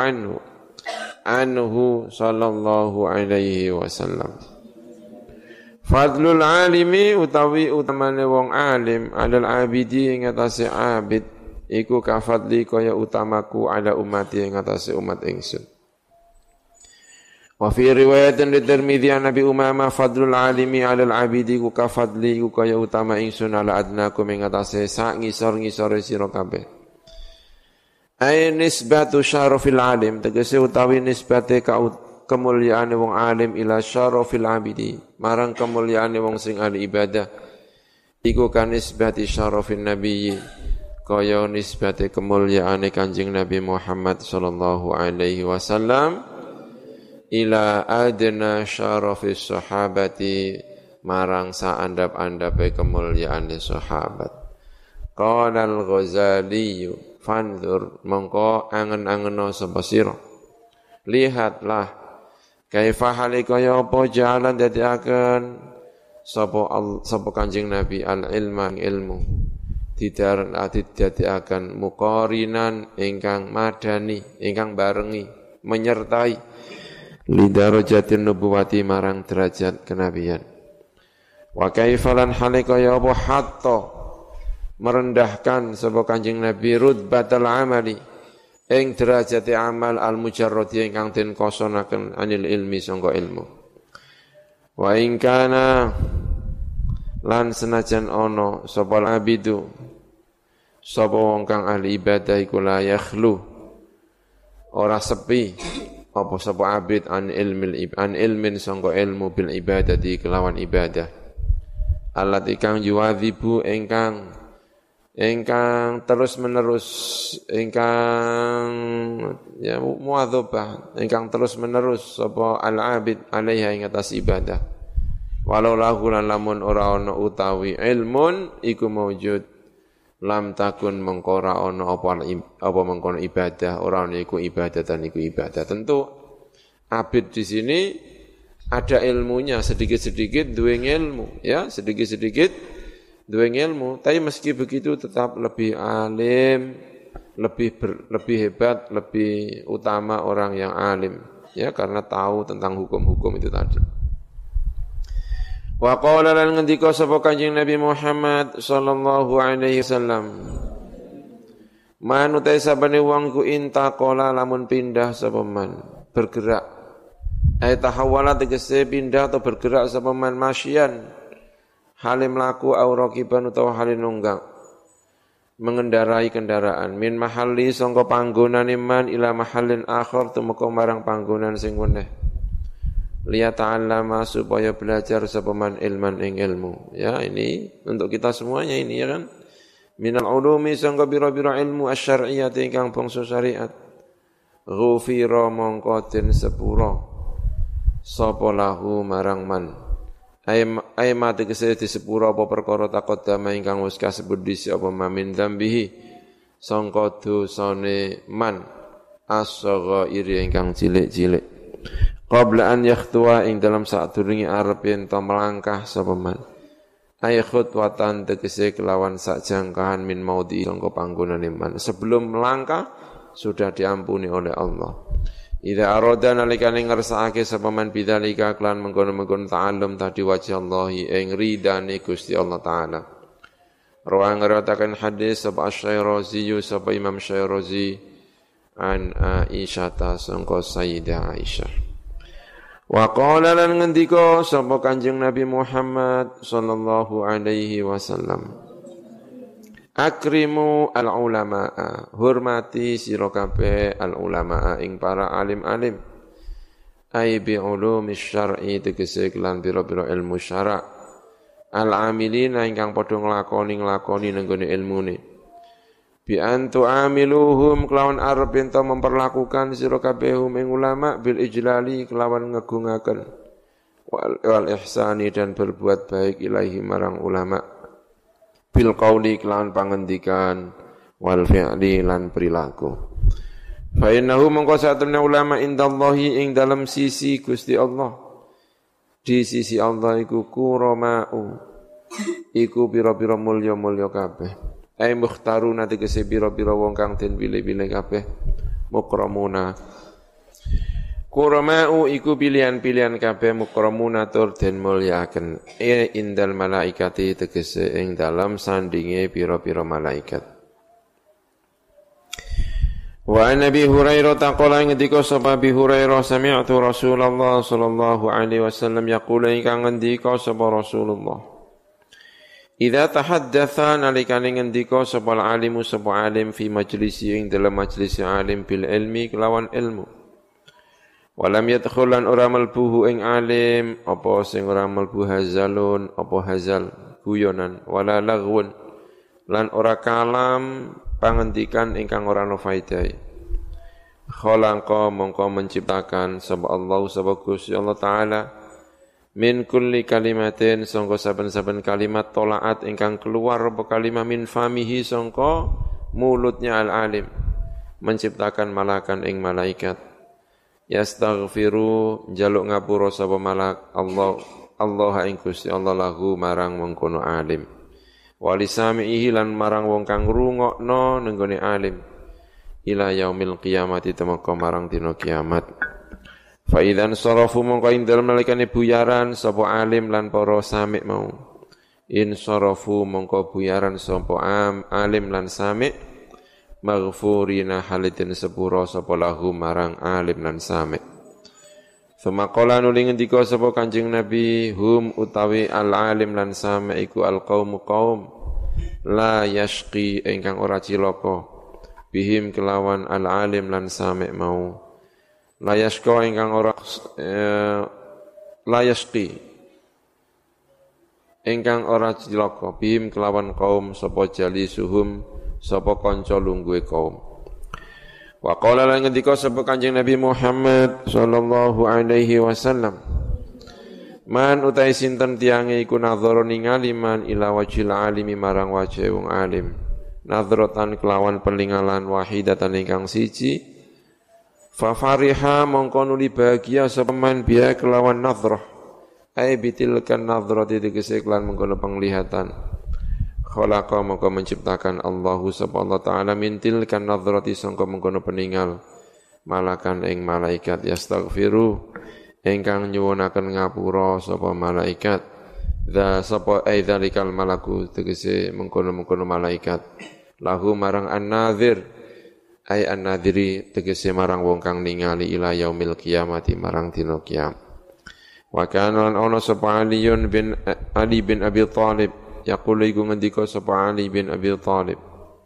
anhu sallallahu alaihi wasallam. Fadlul alimi utawi utamane wong alim alal abidi ing atase abid iku kafadli kaya utamaku ala umati ing atase umat ingsun. Wa fi riwayatin di Tirmidzi an Nabi Umamah fadlul alimi 'alal 'abidi ku ka fadli ku kaya utama ingsun ala adnakum ing atase sak ngisor-ngisore sira kabeh. Ai nisbatu syarafil alim tegese utawi nisbate kemuliaane wong alim ila syarafil 'abidi marang kemuliaane wong sing ahli ibadah iku kan nisbati syarafin nabiyyi kaya nisbate kemuliaane Kanjeng Nabi Muhammad sallallahu alaihi wasallam ila adna syarafis sahabati marang saandap-andape kemuliaane sahabat. Qala al-Ghazali fanzur mongko angen-angeno sapa sira. Lihatlah kaifa kaya apa jalan dadiaken sapa Kanjeng Nabi al-ilma ilmu dadiaken muqarinan ingkang madani ingkang barengi menyertai lidarajatin nubuwati marang derajat kenabian. Wa kaifalan kaya apa hatta merendahkan sapa Kanjeng Nabi rutbatal amali ing derajate amal al mujarradi ingkang den kosonaken anil ilmi sangka ilmu. Wa in kana lan senajan ana sapa abidu sapa wong kang ahli ibadah iku la yakhlu ora sepi apa sapa abid an ilmin sangka ilmu bil ibadati kelawan ibadah allati kang yuwadzibu ingkang terus menerus ingkang ya muadzabah ingkang terus menerus sapa al abid alaiha ing atas ibadah walau lahu lan lamun ora ana utawi ilmun iku maujud lam takun mengkora ono apa mengkono ibadah orang iku ibadatan iku ibadah. Tentu abid di sini ada ilmunya sedikit-sedikit duwe ilmu ya sedikit-sedikit duwe ilmu tapi meski begitu tetap lebih alim lebih hebat lebih utama orang yang alim ya karena tahu tentang hukum-hukum itu tadi. Wa qala lan ngendika sapa Kanjeng Nabi Muhammad sallallahu alaihi wasallam manutai sabane wong ku intaqala lamun pindah sapa man bergerak ay tahawala tegese pindah atau bergerak sapa man masyian halim laku au raqiban utawa halin nunggang mengendarai kendaraan min mahalli sangka panggonan iman ila mahallin akhir tumeka marang panggonan sing weneh liyata'allama supaya belajar sapa man ilman ing ilmu ya ini untuk kita semuanya ini ya kan minal ulumi sangka bira-bira ilmu asy-syar'iyyah ingkang bangsa syariat ghufira mongko den sepura sapa lahu marang man ay mate kese disepura apa perkara taqaddama ingkang wis kasebut dhisik apa mamin dzambihi sangka dosane man as-saghairi ingkang cilik-cilik qabla an yakhtuwa ing dalam sadurunge arep yen to melangkah sapa man ay khutwatan tegese kelawan sakjangkahan min maudi sangka panggonane man sebelum melangkah sudah diampuni oleh Allah idza arada nalikane ngersakake sapa man bidzalika kelan mengkono-mengkono ta'allum tadi wajh Allah ing ridane Gusti Allah taala rawang ngriwayataken hadis sapa Asy-Syairazi sapa Imam Syairazi an Aisyah sangka Sayyidah Aisyah. Wa qala lan ngendika sapa Kanjeng Nabi Muhammad sallallahu alaihi wasallam akrimu al ulamaa hormati sira kabeh al ulamaa ing para alim-alim ai bi ulumis syar'i tegese kelan pira-pira ilmu syara' al amilina ingkang padha nglakoni nenggone ilmune bi antu amiluhum kelawan arep ento memperlakukan sira kabehum ing ulama bil ijlali kelawan ngegungaken wal ihsani dan berbuat baik ilahi marang ulama bil qauli kelawan pangendikan wal fi'li lan perilaku fa innahu mongko satune ulama indallahi ing dalam sisi Gusti Allah di sisi Allah iku kuramau iku pira-pira mulya-mulya kabeh ai mukhtaruna tegese pira-pira wong kang den pilih-pilih kabeh mukramuna kuramau iku pilihan-pilihan kabeh mukramuna tur den mulyakaken indal malaikati tegese ing dalam sandinge pira-pira malaikat Wa an Abi Hurairah taqala ngendika sapa Abi Hurairah sami'tu Rasulullah sallallahu alaihi wasallam yaqulu ingkang ngendika sapa Rasulullah Idza tahaddatsa nalikane ngendika sapa alimu sapa alim fi majlisi ing dalam majlis alim bil ilmi kelawan ilmu Walam yadkhulan ora malbuhu ing alim apa sing ora malbu hazalun apa hazal guyonan wala lagwun lan ora kalam pangendikan ingkang ora ana faedahe khalaqa mongko menciptakan sapa Allah sapa Gusti Allah taala min kulli kalimatin sangka saben-saben kalimat tolaat ingkang keluar apa kalimah min famihi sangka mulutnya al-alim menciptakan malakan ing malaikat yastaghfiru jaluk ngapura sapa malak Allah ing Gusti Allah lahu marang mengkono alim walisamihi lan marang wong kang ngrungokno nenggone alim ila yaumil qiyamati temeka marang dina kiamat fa idzan sarafu mongko ing dalem nalikane buyaran sapa alim lan para sami mau in sarafu mongko buyaran sapa alim lan sami maghfurina halitin sepura sapa lahu marang alim lan sami Suma qala nuli ngendika sapa Kanjeng Nabi hum utawi al-alim lan sami iku al-qaum la yashqi ingkang ora cilaka bihim kelawan al-alim lan sami mau la yashqa ingkang ora la yashqi ingkang ora cilaka bihim kelawan kaum sapa jalisuhum sapa kanca lungguhe kaum Wa qala lan ngendika sapa Kanjeng Nabi Muhammad sallallahu alaihi wasallam Man utai sinten tiange iku nadhara ningali man ila wajhil alimi marang wajhe wong alim nadhratan kelawan peningalan wahidatan ingkang siji fa fariha mongko nuli bahagia sapa man biya kelawan nadhrah ai bitilkan nadhrati tegese kelan mengkono penglihatan khalaqa maka menciptakan Allahu subhanahu wa ta'ala mintil kan nadhrati sangka mengkono peninggal malakan ing malaikat yastaghfiru ingkang nyuwunaken ngapura sapa malaikat dza sapa aidzalikal malaku tegese mengkono-mengkono malaikat lahu marang an-nadhir ai an-nadhiri tegese marang wong kang ningali ila yaumil qiyamati marang dina kiamat wa kana ana sapa Ali bin Abi Thalib yaqulu iku ngendika sapa Ali bin Abi Thalib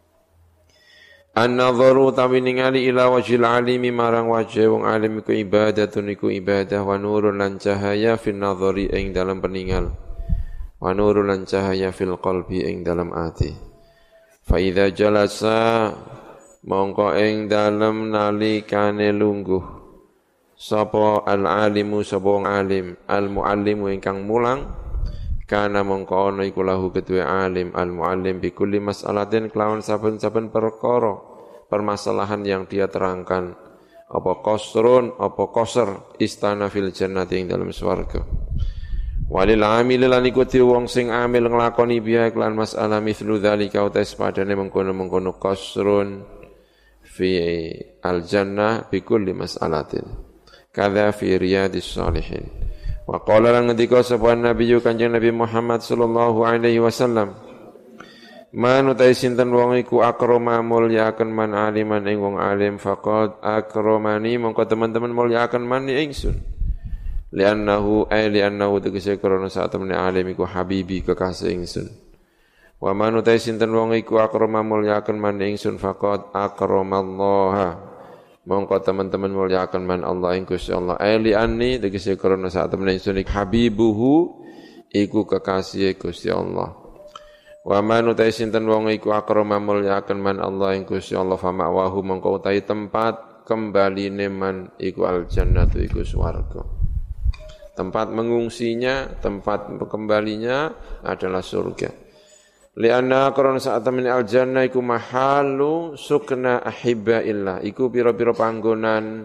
An-nadharu tawi ningali ila wajhil alimi marang wajhe wong alim iku ibadatun iku ibadah wa nurun lan cahaya fil nadhari ing dalam peningal wa nurun lan cahaya fil qalbi ing dalam ati fa idza jalasa mongko ing dalam nalikane lungguh sapa al-alimu sapa wong alim al-muallimu ingkang mulang kana mongko ana iku lahu kedue alim al-muallim bi kulli mas'alatin kelawan saben-saben perkara permasalahan yang dia terangkan apa qasrun apa qasr istana fil jannati ing dalam swarga walil amil lan iku wong sing amil nglakoni biya kelan masalah mithlu dzalika utais padane mengkono-mengkono qasrun fi al-jannah bi kulli mas'alatin kadza fi riyadis shalihin Wa qala lan ngendika sapa Nabi Kanjeng Nabi Muhammad sallallahu alaihi wasallam Man utai sinten wong iku akrama mulyaaken man aliman ing wong alim faqad akramani mongko teman-teman mulyaaken man ingsun li'annahu tegese krana sak temene alim iku habibi kekasih ingsun Wa man utai sinten wong iku akrama mulyaaken man ingsun faqad akramallaha mongko teman-teman muliakan man Allah ing Gusti Allah ali anni tegese krana sak temene ingsun habibuhu iku kekasih Gusti Allah wa man utai sinten wong iku akrama muliakan man Allah ing Gusti Allah fa ma'wahu mongko utai tempat kembaline man iku al jannatu iku swarga tempat mengungsinya tempat kembalinya adalah surga Lianna karena saat temen al-jannah iku mahalu sukna ahibbaillah iku pira-pira panggonan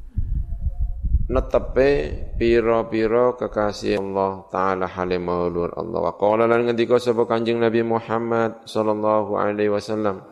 netepe pira-pira kekasih Allah taala halimulur Allah wa qala lan ngendika sapa Kanjeng Nabi Muhammad sallallahu alaihi wasallam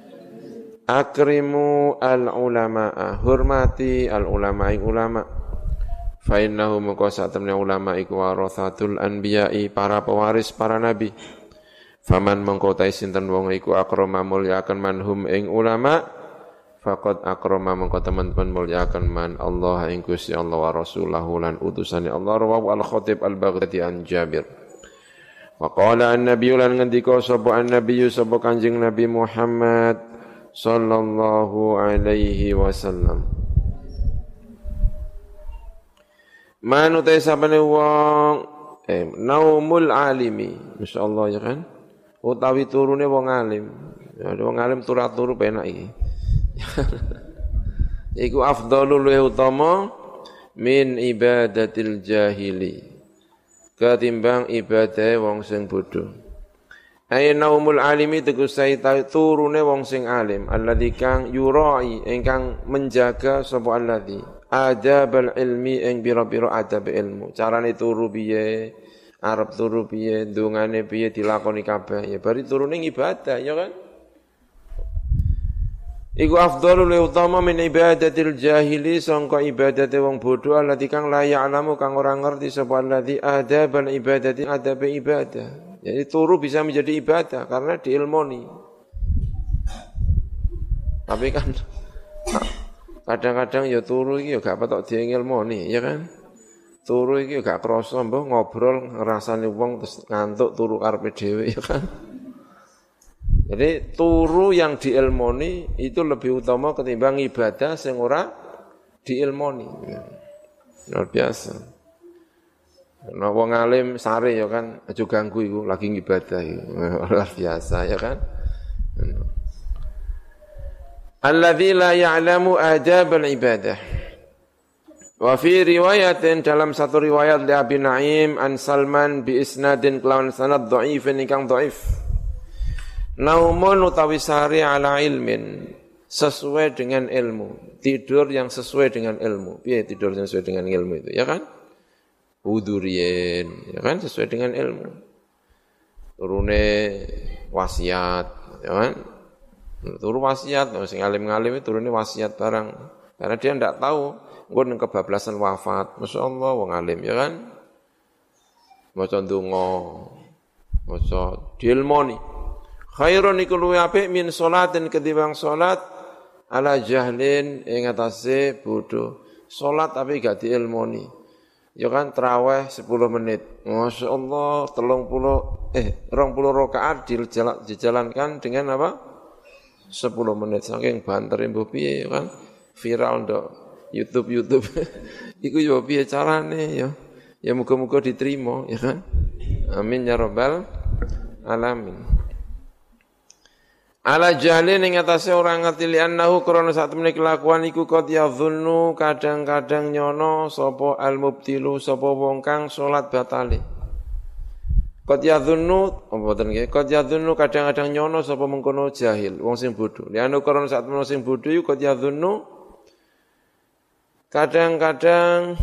akrimu al-ulama hormati al-ulama ing ulama fa innahu maka saat temen ulama iku warathatul anbiya'i para pewaris para nabi Faman mengkotai sinten wong iku akrama mulyakan manhum ing ulama faqad akrama mengko teman-teman muliakan man Allah ing Gusti Allah wa rasulahu lan utusane Allah rawahu al-Khatib al-Baghdadi an Jabir wa qala an-nabiy lan ngendika sapa an-nabiy sapa Kanjeng Nabi Muhammad sallallahu alaihi wasallam manutai sapane wong naumul alimi masyaallah ya kan utawi turune wong alim ya wong alim turu penak iki iku afdhalul utama min ibadatil jahili ketimbang ibadah wong sing bodho ay naumul alimi tegese turune wong sing alim alladzi kang yurai ingkang menjaga sapa alladzi adabal ilmi ing pira-pira adab ilmu carane turu piye arep turu piye ndongane piye dilakoni kabeh ya bari turune ibadah ya kan iku afdhalul utama min ibadatil jahili sangka ibadate wong bodho alladzi kang la ya'lamu kang ora ngerti sapa alladzi adabal ibadati adab ibadah. Jadi turu bisa menjadi ibadah karena diilmoni. Tapi kan kadang-kadang ya turu iki ya gak patok diilmoni, ya kan? Turu iki ya gak krasa mbah ngobrol ngrasani wong terus ngantuk turu karepe dhewe ya kan? Jadi turu yang diilmoni itu lebih utama ketimbang ibadah sing ora diilmoni. Luar biasa. Nah wong alim sare ya kan aja ganggu iku lagi ibadah iku. Luar biasa ya kan. Alladzi la ya'lamu adab al-ibadah. Wa fi riwayatin dalam satu riwayat li Abi Naim an Salman bi isnadin kelawan sanad dhaifin ingkang dhaif. Naumun utawi sari ala ilmin sesuai dengan ilmu. Tidur yang sesuai dengan ilmu. Piye tidur yang sesuai dengan ilmu itu, ya kan? Udurien, ya kan sesuai dengan ilmu. Turune wasiat, ya kan? Turu wasiat, sing alim-alim itu turune wasiat barang. Karena dia ndak tahu engko nang kebablasan wafat. Masyaallah wong alim, ya kan? Maca ndonga, maca diilmoni. Khairun iku luwih apik min salatin ketimbang salat ala jahlin ing atase bodho. Salat tapi gak diilmoni. Ya kan tarawih 10 menit. Masyaallah 20 rakaat dijalankan dengan apa? 10 menit saking bantere mbok piye ya kan? Viral ndok YouTube. Iku yo piye carane ya? Ya muga-muga diterima ya kan? Amin ya rabbal alamin. Ala jahlin ing atase ora ngerti li'annahu krana sak temene kelakuan iku qad yadhunnu kadang-kadang nyono sapa al-mubtilu sapa wong kang salat batale. Qad yadhunnu mboten nggih qad yadhunnu kadang-kadang nyono sapa mengkono jahil wong sing bodho. Li'annahu krana sak temene sing bodho iku qad yadhunnu kadang-kadang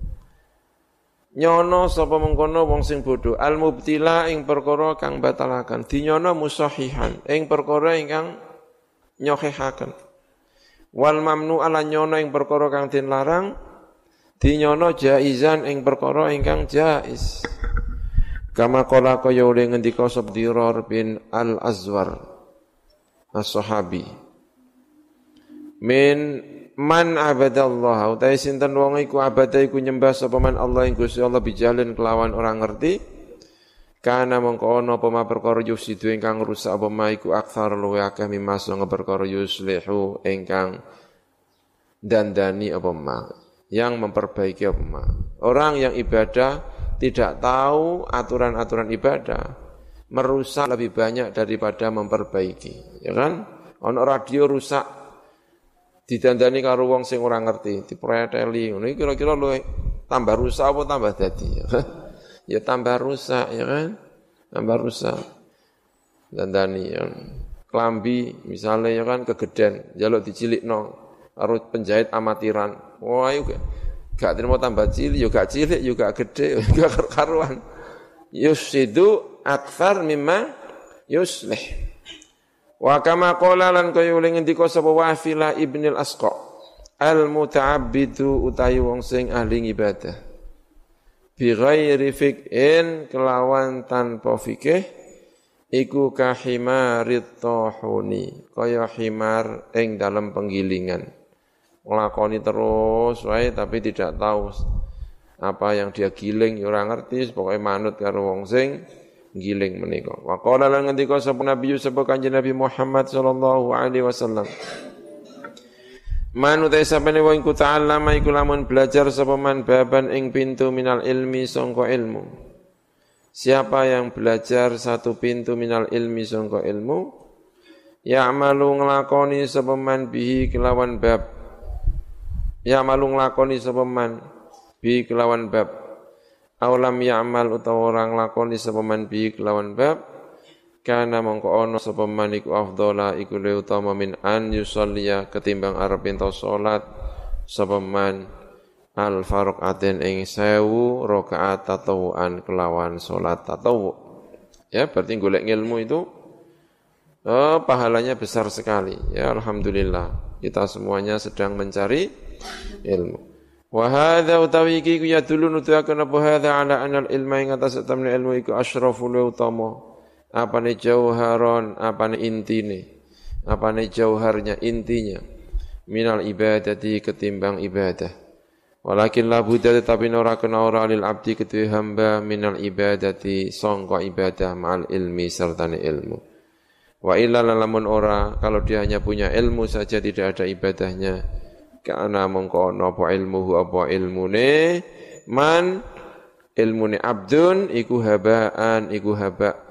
nyono sapa mengkono wong sing bodho al-mubtila ing perkara kang batalaken dinyono musahihan ing perkara ingkang nyohehaken wal mamnu ala nyono ing perkara kang den larang dinyono jaizan ing perkara ingkang jaiz kama qala kaya oleh ngendika Sabdirar bin al-Azwar as-sahabi min man abadallah utai sinten wong iku abada iku nyembah sapa man Allah ing Gusti Allah bijalin kelawan orang ngerti kana mongko ana apa ma perkara yusidu ingkang rusak apa ma iku aktsar luwe akeh mimas nga perkara yuslihu ingkang dandani apa ma yang memperbaiki apa ma orang yang ibadah tidak tahu aturan-aturan ibadah merusak lebih banyak daripada memperbaiki ya kan ana radio rusak didandani karo wong sing ora ngerti, dipreteli. Ngono iki kira-kira luwih tambah rusak apa tambah dadi? Ya tambah rusak ya kan? Tambah rusak. Dandani ya. Klambi misalnya ya kan kegeden, njaluk dicilikno karo penjahit amatiran. Wah ayo gak terima tambah cilik, yo gak cilik, yo gak gede, gak karuan. Yusidu aktsar mimma yuslih. Wa kama qala lan kaya uling ngendika sapa Wafila Ibnul Asqa al-muta'abbidu utawi wong sing ahli ibadah bi ghairi fiqhin kelawan tanpa fikih iku kahimarit tahuni kaya himar ing dalam penggilingan nglakoni terus wae tapi tidak tahu apa yang dia giling ya ora ngerti pokoke manut karo wong sing giling menika wa qala lan ngendika sapa nabi sapa kanjeng Nabi Muhammad sallallahu alaihi wasallam man utai sapane wong iku ta'allama iku lamun belajar sapa man baban ing pintu minal ilmi sangka ilmu. Siapa yang belajar satu pintu minal ilmi sangka ilmu, ya'malu nglakoni sapa man bihi kelawan bab. Ya'malu nglakoni sapa man bihi kelawan bab. Aw lam ya'mal utawa ora nglakoni sapa man bihi kelawan bab, kana mongko ana sapa man iku afdhala iku luwih utama min an yusalliya ketimbang arep ento salat sapa man al-farqatin ing 1000 rakaat tatawuan kelawan salat tatawu. Ya, berarti golek ilmu itu pahalanya besar sekali. Ya, alhamdulillah. Kita semuanya sedang mencari ilmu. Wa hadza utawi iki ya dulu nutuaken apa hadza ala anal ilma ing atas temne ilmu iku asyraful utama. Apane jauharon, apane intine. Apane jauharnya intinya. Minal ibadati ketimbang ibadah. Walakin la budda tetapi ora kena ora lil abdi kedue hamba minal ibadati sangka ibadah ma'al ilmi sertane ilmu. Wa illa lamun ora kalau dia hanya punya ilmu saja tidak ada ibadahnya kana mongko ana apa ilmuhu apa ilmune man ilmune abdun iku habaan iku haba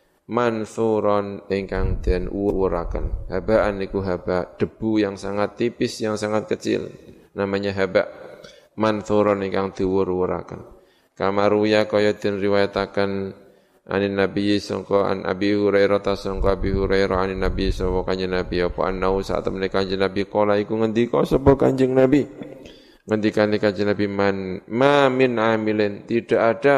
mansuron ingkang den uwuraken. Habaan iku haba debu yang sangat tipis yang sangat kecil namanya haba. Mansuron ingkang diwur-wuraken. Kamaruya kaya den riwayataken anin Nabi sangka an Abi Hurairah ta sangka Abi Hurairah anin Nabi sapa kanjeng Nabi apa annau saat temene kanjeng Nabi kala iku ngendika sapa kanjeng Nabi. Ngendikane kanjeng Nabi ma min amilin tidak ada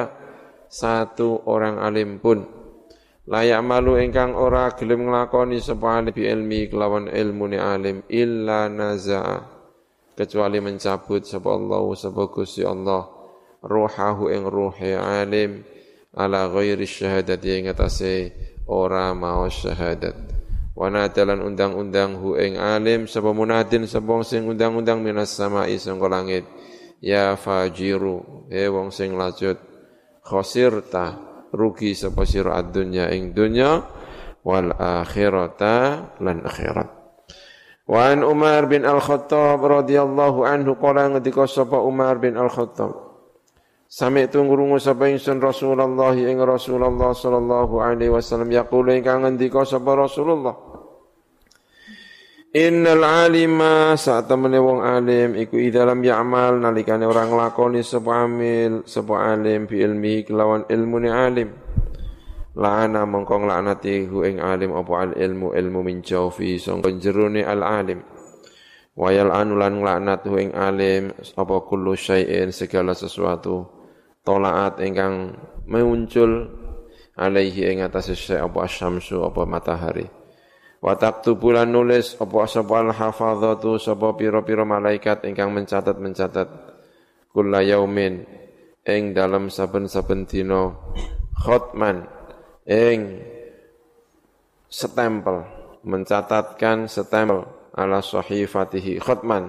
satu orang alim pun layak malu ingkang ora gelem nglakoni sapa alim bi ilmi kelawan ilmune alim illa naza'a kecuali mencabut sapa Allah sapa Gusti Allah ruhahu ing ruhi alim ala ghairi syahadati ing atase ora mau syahadat wa nadalan undang-undang hu ing alim sapa munadin sapa sing undang-undang minas samai sangka langit ya fajiru wong sing lacut khosirta rugi sapa sira ad-dunya ing dunya wal akhirata lan akhirat. Wa an Umar bin Al-Khattab radhiyallahu anhu qala ngendika sapa Umar bin Al-Khattab sami'tu ngrungu sapa ingsun Rasulullah ing Rasulullah sallallahu alaihi wasallam yaqulu ingkang ngendika sapa Rasulullah innal alima saat temene wong alim iku idza lam ya'mal nalikane orang nglakoni sapa amil sapa alim bi ilmi kelawan ilmune alim la'ana mongko nglaknati hu ing alim apa al ilmu min jawfi sangka jerone al alim wa yal'anu lan nglaknat hu ing alim apa kullu syai'in segala sesuatu tolaat ingkang muncul alaihi ing atase syai' apa syamsu apa matahari wa taktubu lan nulis apa sapa al hafadzatu sapa pira-pira malaikat ingkang mencatat kulla yaumin ing dalam saben-saben dina khatman ing stempel mencatatkan stempel ala sahifatihi khatman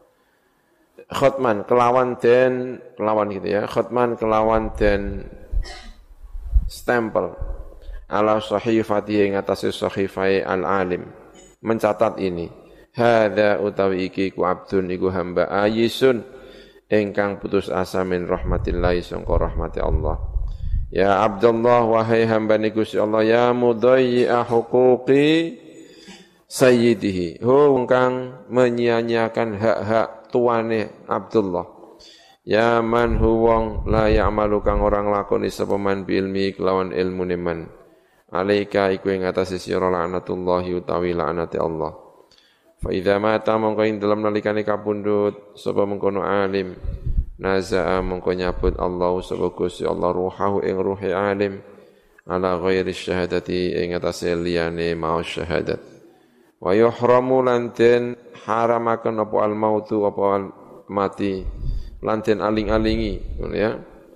kelawan gitu ya khatman kelawan den stempel ala sahifatihi ing atase sahifai al alim mencatat ini hadza utawi iki ku abdun iku hamba ayisun ingkang putus asa min rahmatillahi sangka rahmati Allah. Ya Abdullah wahai hamba ni Gusti Allah ya mudayyi'a huquqi sayyidihi kang menyia-nyiakan hak-hak tuane Abdullah ya man huwong la ya'malu kang orang lakoni sapa man bi ilmi kelawan ilmune man alaika iku ing atase sira laknatullahi utawi laknate Allah fa idza mata mongko ing dalem nalikane kapundhut sapa mengkono alim naza'a mongko nyabut Allah sapa Gusti Allah ruhahu ing ruhi alim ala ghairi syahadati ing atase liyane mau syahadat wa yuhramu lan den haramaken apa al mautu apa mati lan den aling-alingi ngono ya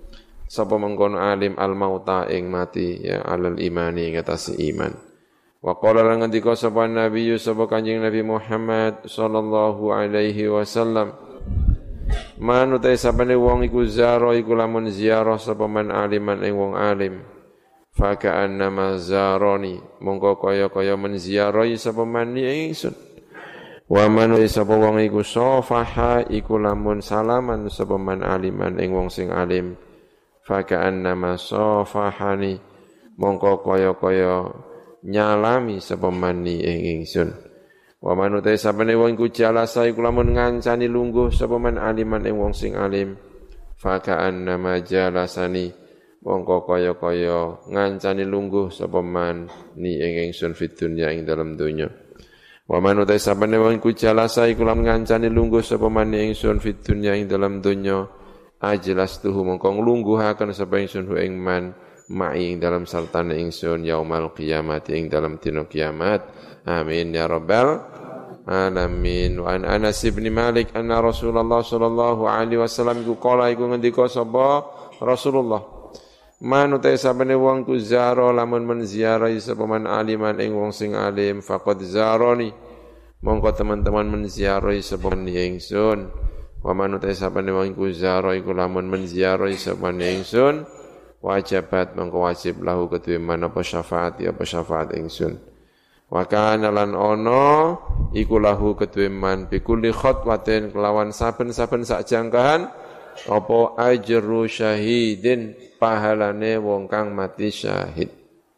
sapa mengkono alim al-mauta ing mati ya alal imani ing atas iman. Wa qala lan ngendika sapa nabi sapa Kanjeng Nabi Muhammad sallallahu alaihi wasallam, man utai sapane wong iku zaro iku lamun ziarah sapa man aliman ing wong alim, fa ka'annama zaroni mongko kaya-kaya menziarahi sapa man ingsun. Wa man sapa wong iku safaha iku lamun salaman sapa man aliman ing wong sing alim, fa ka'annama safahani mongko kaya-kaya nyalami sapa man ing ingsun. Wa man utai sapane wong iku jalasa iku lamun ngancani lungguh sapa man aliman ing wong sing alim, fa ka'annama jalasani mongko kaya-kaya ngancani lungguh sapa man ing ingsun fid dunya ing dalam dunya. Wa man utai sapane wong iku jalasa iku lamun ngancani lungguh sapa man ingsun fid dunya ing dalam dunya, ajlastuhu mongko nglungguhaken sapa ingsun ing man ma'i ing dalam sartane ingsun yaumal qiyamati ing dalam dina kiamat. Amin ya rabbal alamin. Wa an Anas bin Malik anna Rasulullah sallallahu alaihi wasallam iku qala iku ngendika sapa Rasulullah, man utai sapane wong ku zaro lamun menziarahi sapa man aliman ing wong sing alim, faqad zaroni mongko teman-teman menziarahi sapa man ingsun. Wa man utai sapane wong ku zaro iku lamun menziarahi sapa man ingsun, wajibat mongko wajib lahu kedue man apa syafaat ya apa syafaat ingsun. Wa kana lan ono iku lahu kedue man bi kulli khatwatin kelawan saben-saben sak jangkahan apa ajru syahidin pahalane wong kang mati syahid.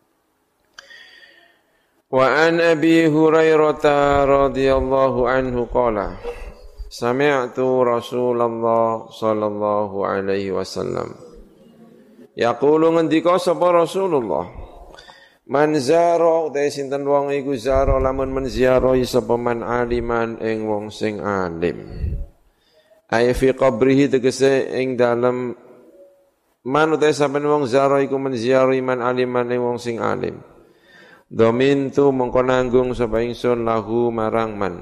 Wa an Abi Hurairah radhiyallahu anhu qala sami'tu Rasulullah sallallahu alaihi wasallam yaqulu ngendika sapa Rasulullah, man zara utai sinten wong iku zara lamun menziarahi sapa man aliman ing wong sing alim, ay fi qabrihi tegese ing dalem man utai saben wong zara iku menziarahi man aliman ing wong sing alim, domintu mongko nanggung sapa ingsun lahu marang man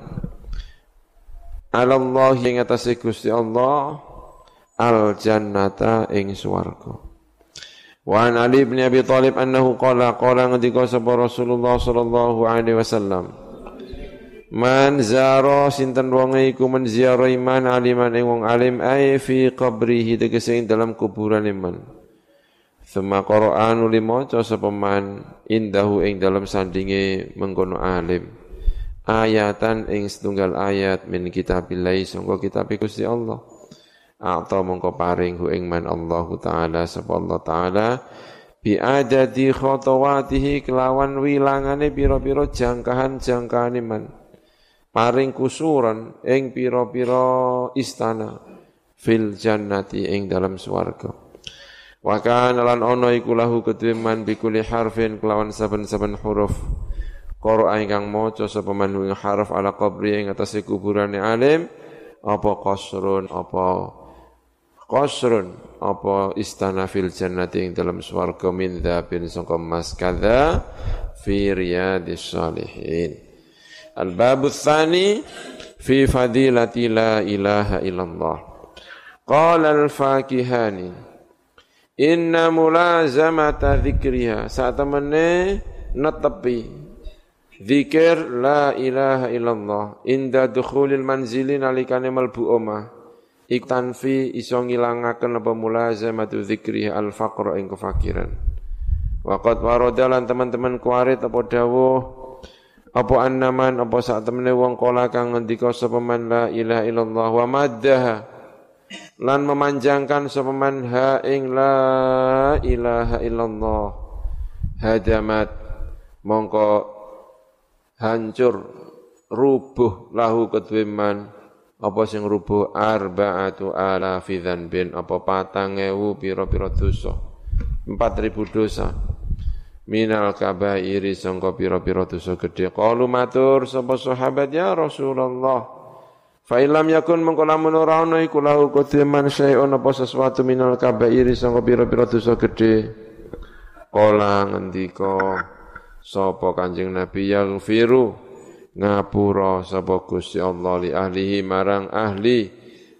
Allah ing atase Gusti Allah al jannata ing swarga. Wa an Ali bin Abi Thalib annahu qala ngendika sapa Rasulullah sallallahu alaihi wasallam, man zara sinten wong iku menziarahi man aliman ing wong alim ay fi qabrihi tegese ing dalam kuburan man. Thumma qara'anu limaca sapa man indahu ing dalam sandinge mengkono alim ayatan ing setunggal ayat min kitabillah sangka kitab Gusti Allah. Atau mongko paring hu ing man Allah taala sapa Allah taala bi adadi khatawatihi kelawan wilangane pira-pira jangkahan-jangkahane man, paring kusuran ing pira-pira istana fil jannati ing dalam swarga. Wa kana lan ana iku lahu kedue man bi kulli harfin kelawan saben-saben huruf Qur'an ingkang maca sapa man ing harf ala qabri ing atase kuburane alim apa qasrun apa istana fil jannati ing dalam swarga min dzabin sangka emas kadza fi riyadis salihin. Al-babu tsani fi fadilati la ilaha illallah. Qala al-Fakihani inna mulazamata dzikriha satamane netepi zikir la ilaha illallah inda dukhulil manzili nalikane mlebu omah iku tanfi iso ngilangaken apa mulazamatu dzikriha al-faqra ing kefakiran. Waqat waradalan teman-teman kuarit apa dawuh apa annaman apa sak temene wong kala kang ngendika sapa man la ilaha illallah wa maddaha lan memanjangkan sapa man ha ing la ilaha illallah hadamat mongko hancur rubuh lahu kedue man apa sing rubuh arba'atu alafi dzanbin apa 4.000 pira-pira dosa 4.000 dosa minal kabairi sangka pira-pira dosa gedhe. Qalu matur sapa sahabat ya Rasulullah fa illam yakun mengko lamun ora ana iku lahu kedue man syai'un apa sesuatu minal kabairi sangka pira-pira dosa gedhe. Qala ngendika sapa Kanjeng Nabi yaghfiru ngapura sapa Gusti Allah li ahlihi marang ahli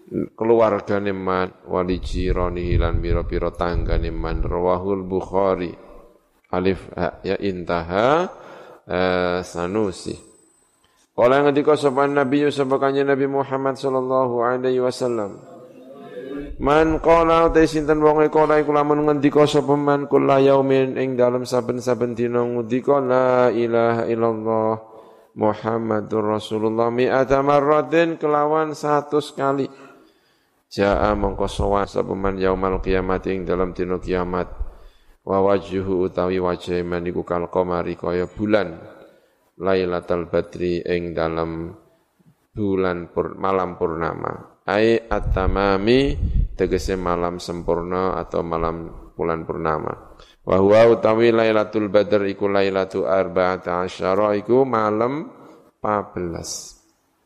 keluargane man wali jirani lan pira-pira tanggane man rawahul Bukhari alif ya intaha Sanusi. Kala ngendika sapa Nabi sabakane Nabi Muhammad sallallahu alaihi wasallam. Man qala ta sinten wong kala iku lamun ngendika sapa man kula yaumin ing dalem saben-saben dina ngendika la ilaha illallah Muhammadur Rasulullah mi'ata marratin kelawan 100 kali. Jaa mongko sowan sapa man yaumal kiamat ing dalem dina kiamat. Wa wajhuhu utawi wajah man iku kal qamari kaya bulan Lailatul Badri ing dalam bulan malam purnama ai at-tamami tegese malam sempurna atau malam bulan purnama wa huwa utawi Lailatul Badr iku Lailatu 14 iku malam 14.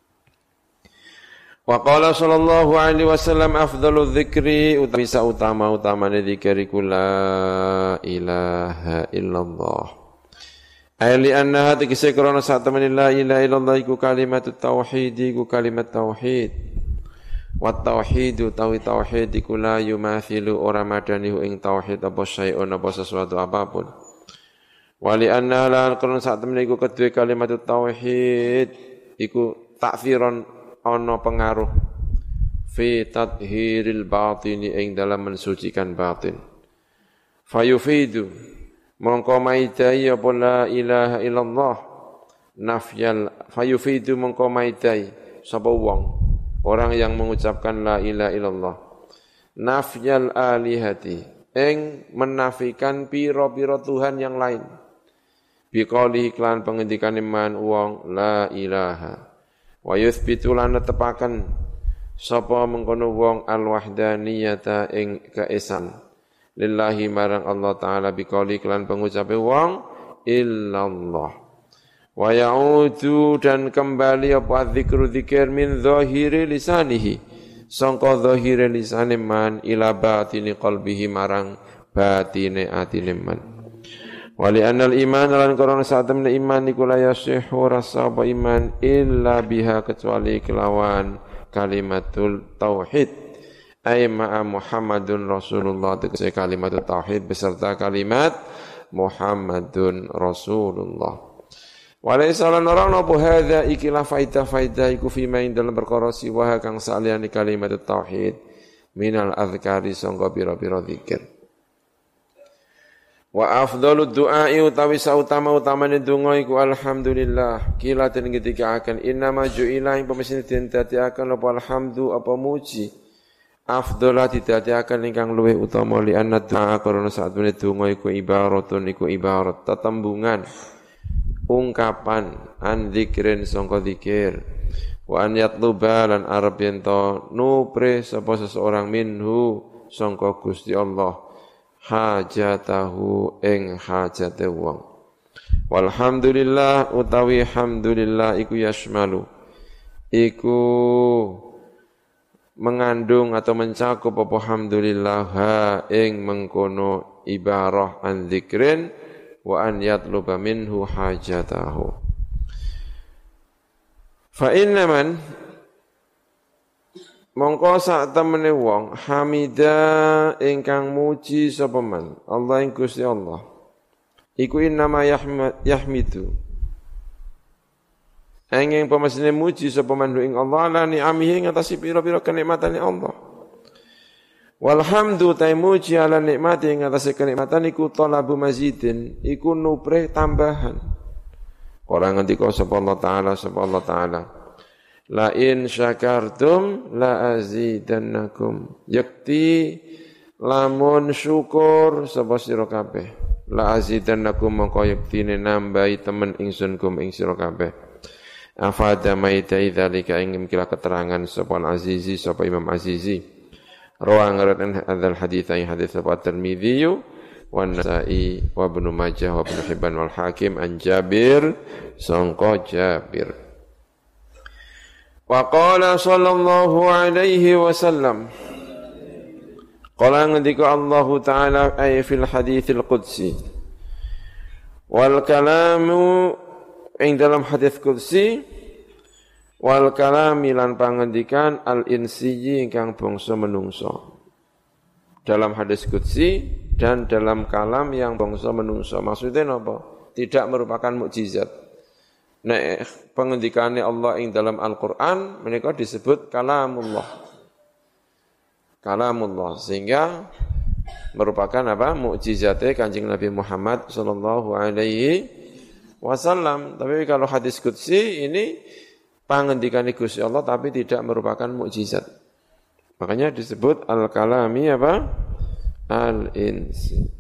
Wa qala sallallahu alaihi wasallam afdhalu dzikri utawi utama-utamane zikir iku la ilaha illallah. Ai li annaha tegese krana sak temene la ilaha illallah iku kalimat tauhid iku kalimat tauhid. Wa tauhid utawi tauhid iku la yumathilu ora madani ing tauhid apa syai'un apa sesuatu apapun. Wa li annaha la krana sak temene iku kedue kalimat tauhid iku ta'thiron ana pengaruh fi tathhiril batini ing dalam mensucikan batin. Fayufidu mongko maidai apa la ilaha illallah nafyal fayufidu mongko maidai sapa wong orang yang mengucapkan la ilaha illallah nafyal alihati ing menafikan pira-pira tuhan yang lain biqali iklan pengendikan iman wong la ilaha wa yuthbitu lan tepaken sapa mengkono wong al-wahdaniyata ing kaesan lillahi marang Allah taala biqauli kelan pengucape wong illallah wa ya'udu dan kembali apa zikru zikir min zahiri lisanihi sangka zahiri lisane man ila batini qalbihi marang batine atine man wali anal iman lan karena saat temen iman iku la yasihu rasa apa iman illa biha kecuali kelawan kalimatul tauhid ay ma'a Muhammadun Rasulullah tegese kalimatul tauhid beserta kalimat Muhammadun Rasulullah walaysa lan ora napa hadza ikilah faidah iku fi main dalam perkara siwa kang saliyane kalimatut tauhid minal azkari sangka pira-pira zikir. Wa afdhalud du'a'i utawi sautama-utamane donga iku alhamdulillah. Kila den ketika akan innama ju'ila ing pemesine den dadiaken apa alhamdu apa muji. Afdhalah didadiaken ingkang luwih utama li anna du'a karena sakjane donga iku ibaratun iku ibarat tetembungan ungkapan an dzikrin sangka zikir. Wa an yatluba lan arep yen to nupre sapa seseorang minhu sangka Gusti Allah. Hajatahu ing hajate wong. Walhamdulillah utawi hamdulillah iku yasmalu iku mengandung atau mencakup apa hamdulillah ha ing mengkono ibarah an dzikrin wa an yatluba minhu hajatahu. Fa inna man mongko sak temene wong hamida ingkang muji sapa man Allah ing Gusti Allah iku innama yahmidu angin pemesine muji sapa man ing Allah la ni'amihi ngatasi pira-pira kenikmatane Allah walhamdu ta muji ala nikmati ngatasi kenikmatan iku talabu mazidin iku nupre tambahan ora ngendika sapa Allah taala la in syakartum la azidannakum yakti lamun syukur sapa sira kabeh la azidannakum mongko yaktine nambahi temen ingsun kum ing sira kabeh afada maita idzalika ing kira keterangan sapa azizi sapa Imam Azizi rawang ngaraten hadzal hadits ay hadits sapa Tirmidzi wa Nasa'i wa Ibnu Majah wa Ibnu Hibban wal Hakim an Jabir sangka Jabir. Wa qala sallallahu alaihi wasallam qala ngendika Allah taala ay fil haditsil qudsi wal kalamu ing dalam hadits qudsi Wal kalami lan pangendikan al-insiyyi ingkang bangsa menungso. Dalam hadis qudsi dan dalam kalam yang bangsa menungso. Maksudnya apa? Tidak merupakan mukjizat. Nek pengendikane Allah ing dalam Al-Qur'an menika disebut kalamullah. Kalamullah sehingga merupakan apa? Mukjizate Kanjeng Nabi Muhammad sallallahu alaihi wasallam. Tapi kalau hadis qudsi ini pangendikane Gusti Allah tapi tidak merupakan mukjizat. Makanya disebut al-kalami apa? Al-insi.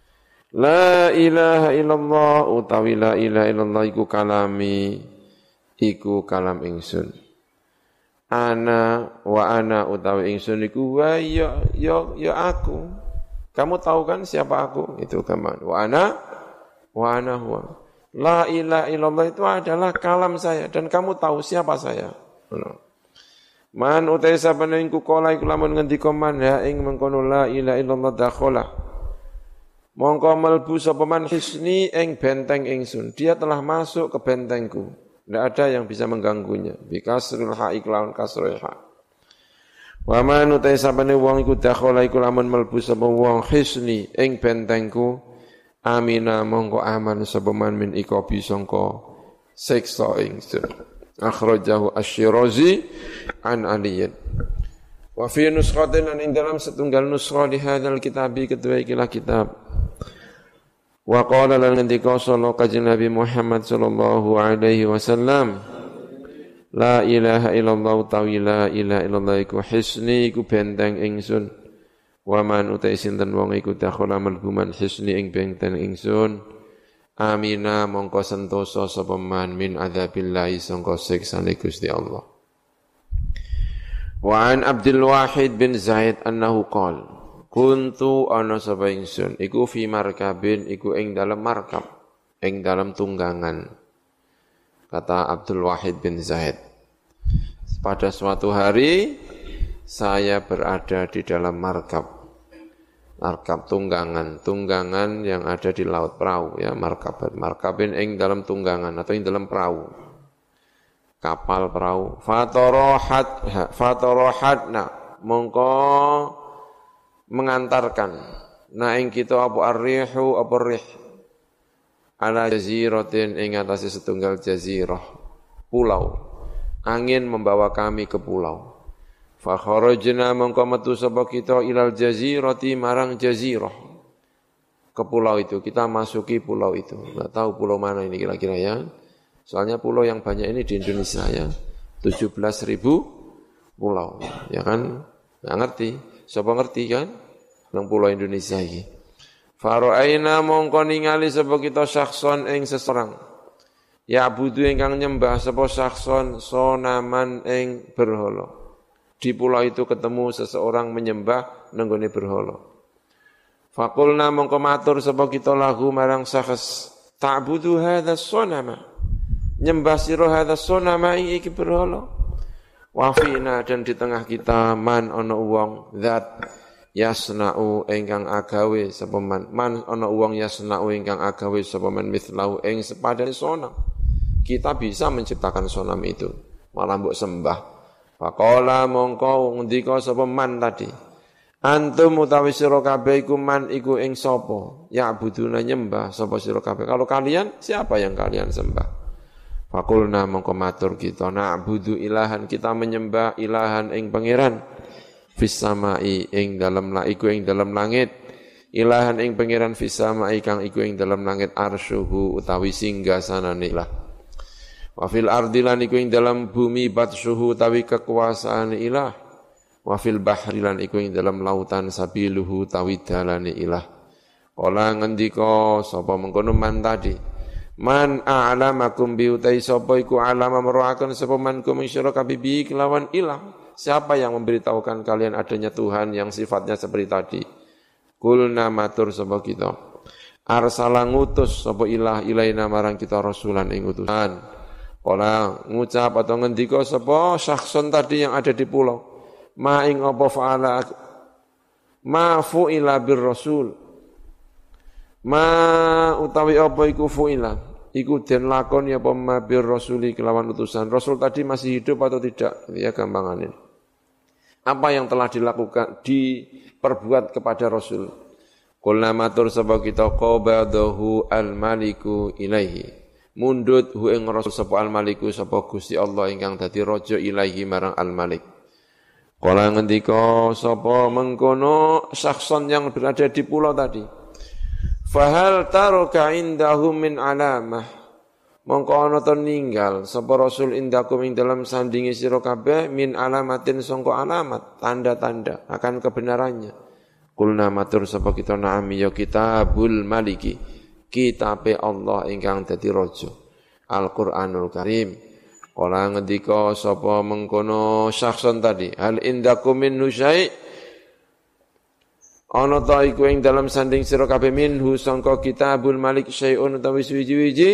La ilaha illallah utawi la ilaha illallah iku kalami iku kalam ingsun. Ana wa ana utawi ingsun iku wa ya aku. Kamu tahu kan siapa aku? Itu gampang. Wa ana huwa. La ilaha illallah itu adalah kalam saya dan kamu tahu siapa saya. Man utai sabana ing kukola iku lamun ngendika man ha ing mengkono la ilaha illallah dakhala. Mongko melbu sapa man hisni ing benteng ingsun. Dia telah masuk ke bentengku. Tidak ada yang bisa mengganggunya. Bi kasril ha iklawan kasrul ha. Wa man utai sabana wong iku dakhala iku lamun melbu sapa wong hisni ing bentengku. Amina mongko aman sapa man min ikobi sangka siksa ingsun. Akhrajahu Asy-Syirazi an Aliyin. Wa fi nuskhatin an ing dalam setunggal nuskha di hadzal kitabi kedua ikilah kitab. Wa qala lan ngendika sallallahu kanjeng Nabi Muhammad sallallahu alaihi wasallam la ilaha illallah tawi la ilaha illallah iku hisni iku benteng ingsun. Wa man utai sinten wong iku dakhala malbuman hisni ing benteng ingsun. Amina mongko sentosa sapa man min adzabillahi sangka siksane Gusti Allah. Wa an Abdul Wahid bin Zaid annahu qala kuntu ana sapa ingsun iku fi markabin iku ing dalam markab ing dalam tunggangan. Kata Abdul Wahid bin Zaid, pada suatu hari saya berada di dalam markab tunggangan yang ada di laut, perahu ya, markabin ing dalam tunggangan atau ing dalam perahu, kapal perahu. Fatorohatna mongko mengantarkan na ing kita apa arrihu apa rih ala jaziratin ing atase setunggal jazirah pulau, angin membawa kami ke pulau. Fa kharajna mongko metu sapa kita ilal jazirati marang jazirah. Ke pulau itu, kita masuki pulau itu. Enggak tahu pulau mana ini kira-kira ya. Soalnya pulau yang banyak ini di Indonesia ya. 17.000 pulau, ya kan? Enggak ngerti. Sapa ngerti kan? Nang pulau Indonesia iki. Fara'aina mongko ningali sapa kita syakhson ing seseorang. Ya budu ingkang nyembah sapa syakhson sonaman ing berhala. Di pulau itu ketemu seseorang menyembah nenggone berhala. Faqulna mongko matur sapa kita lahu marang sakhs ta'budu hadza sonama. Nyembah sira hadza sonama iki berhala. Wa fina dan di tengah kita man ana wong zat yasna'u ingkang agawe sapa man ana wong yasna'u ingkang agawe sapa man mithlahu ing sepadane sonam. Kita bisa menciptakan sonam itu, malah mbok sembah. Faqala mongko ngendika sapa man tadi. Antum utawi sira kabeh iku man iku ing sapa? Ya buduna nyembah sapa sira kabeh. Kalau kalian siapa yang kalian sembah? Faqulna mongko matur kita na'budu ilahan kita menyembah ilahan ing pangeran fis samai ing dalam iku ing dalam langit. Ilahan ing pangeran fis samai kang iku ing dalam langit arsyuhu utawi singgasanane ilah. Wa fil ardi lan iku ing dalam bumi batsyuhu tawi kekuasaan ilah. Wa fil bahri lan iku ing dalam lautan sabiluhu tawi dalane ilah. Kala ngendika sapa mengkono man tadi. Man a'lamakum bi utai sapa iku alama meruaken sapa man kum sira kabibi kelawan ilah. Siapa yang memberitahukan kalian adanya Tuhan yang sifatnya seperti tadi? Kulna matur sapa kita. Arsala ngutus sapa ilah ilaina marang kita rasulan ing utusan. Kala ngucap atau ngendika sapa syakhsun tadi yang ada di pulau. Ma ing apa fa'ala ma fu'ila bir rasul. Ma utawi apa iku fu'ila. iku den lakoni apa mabir rasuli kelawan utusan. Rasul tadi masih hidup atau tidak? Ya gampangannya. Apa yang telah dilakukan, diperbuat kepada Rasul? Qulna matur sapa kita qabadahu al-maliku ilaihi. Mundut hu ing Rasul sapa al-maliku sapa Gusti Allah ingkang dadi raja ilaihi marang al-malik. Kala ngendika sapa mengkono sakson yang berada di pulau tadi. Fahal taraka indahu min alamah. Mongko ana to ninggal sapa Rasul indakum ing dalam sandingi sira kabeh min alamatin sangka alamat, tanda-tanda akan kebenarannya. Kulna matur sapa kita na'am ya kitabul maliki. Kitabe Allah ingkang dadi raja. Al-Qur'anul Karim. Kala ngendika sapa mengkono sakson tadi, hal indakum min syai' ana ta iku ing dalam sanding sira kabeh minhu sangka kitabul malik syai'un utawi suwi-wiji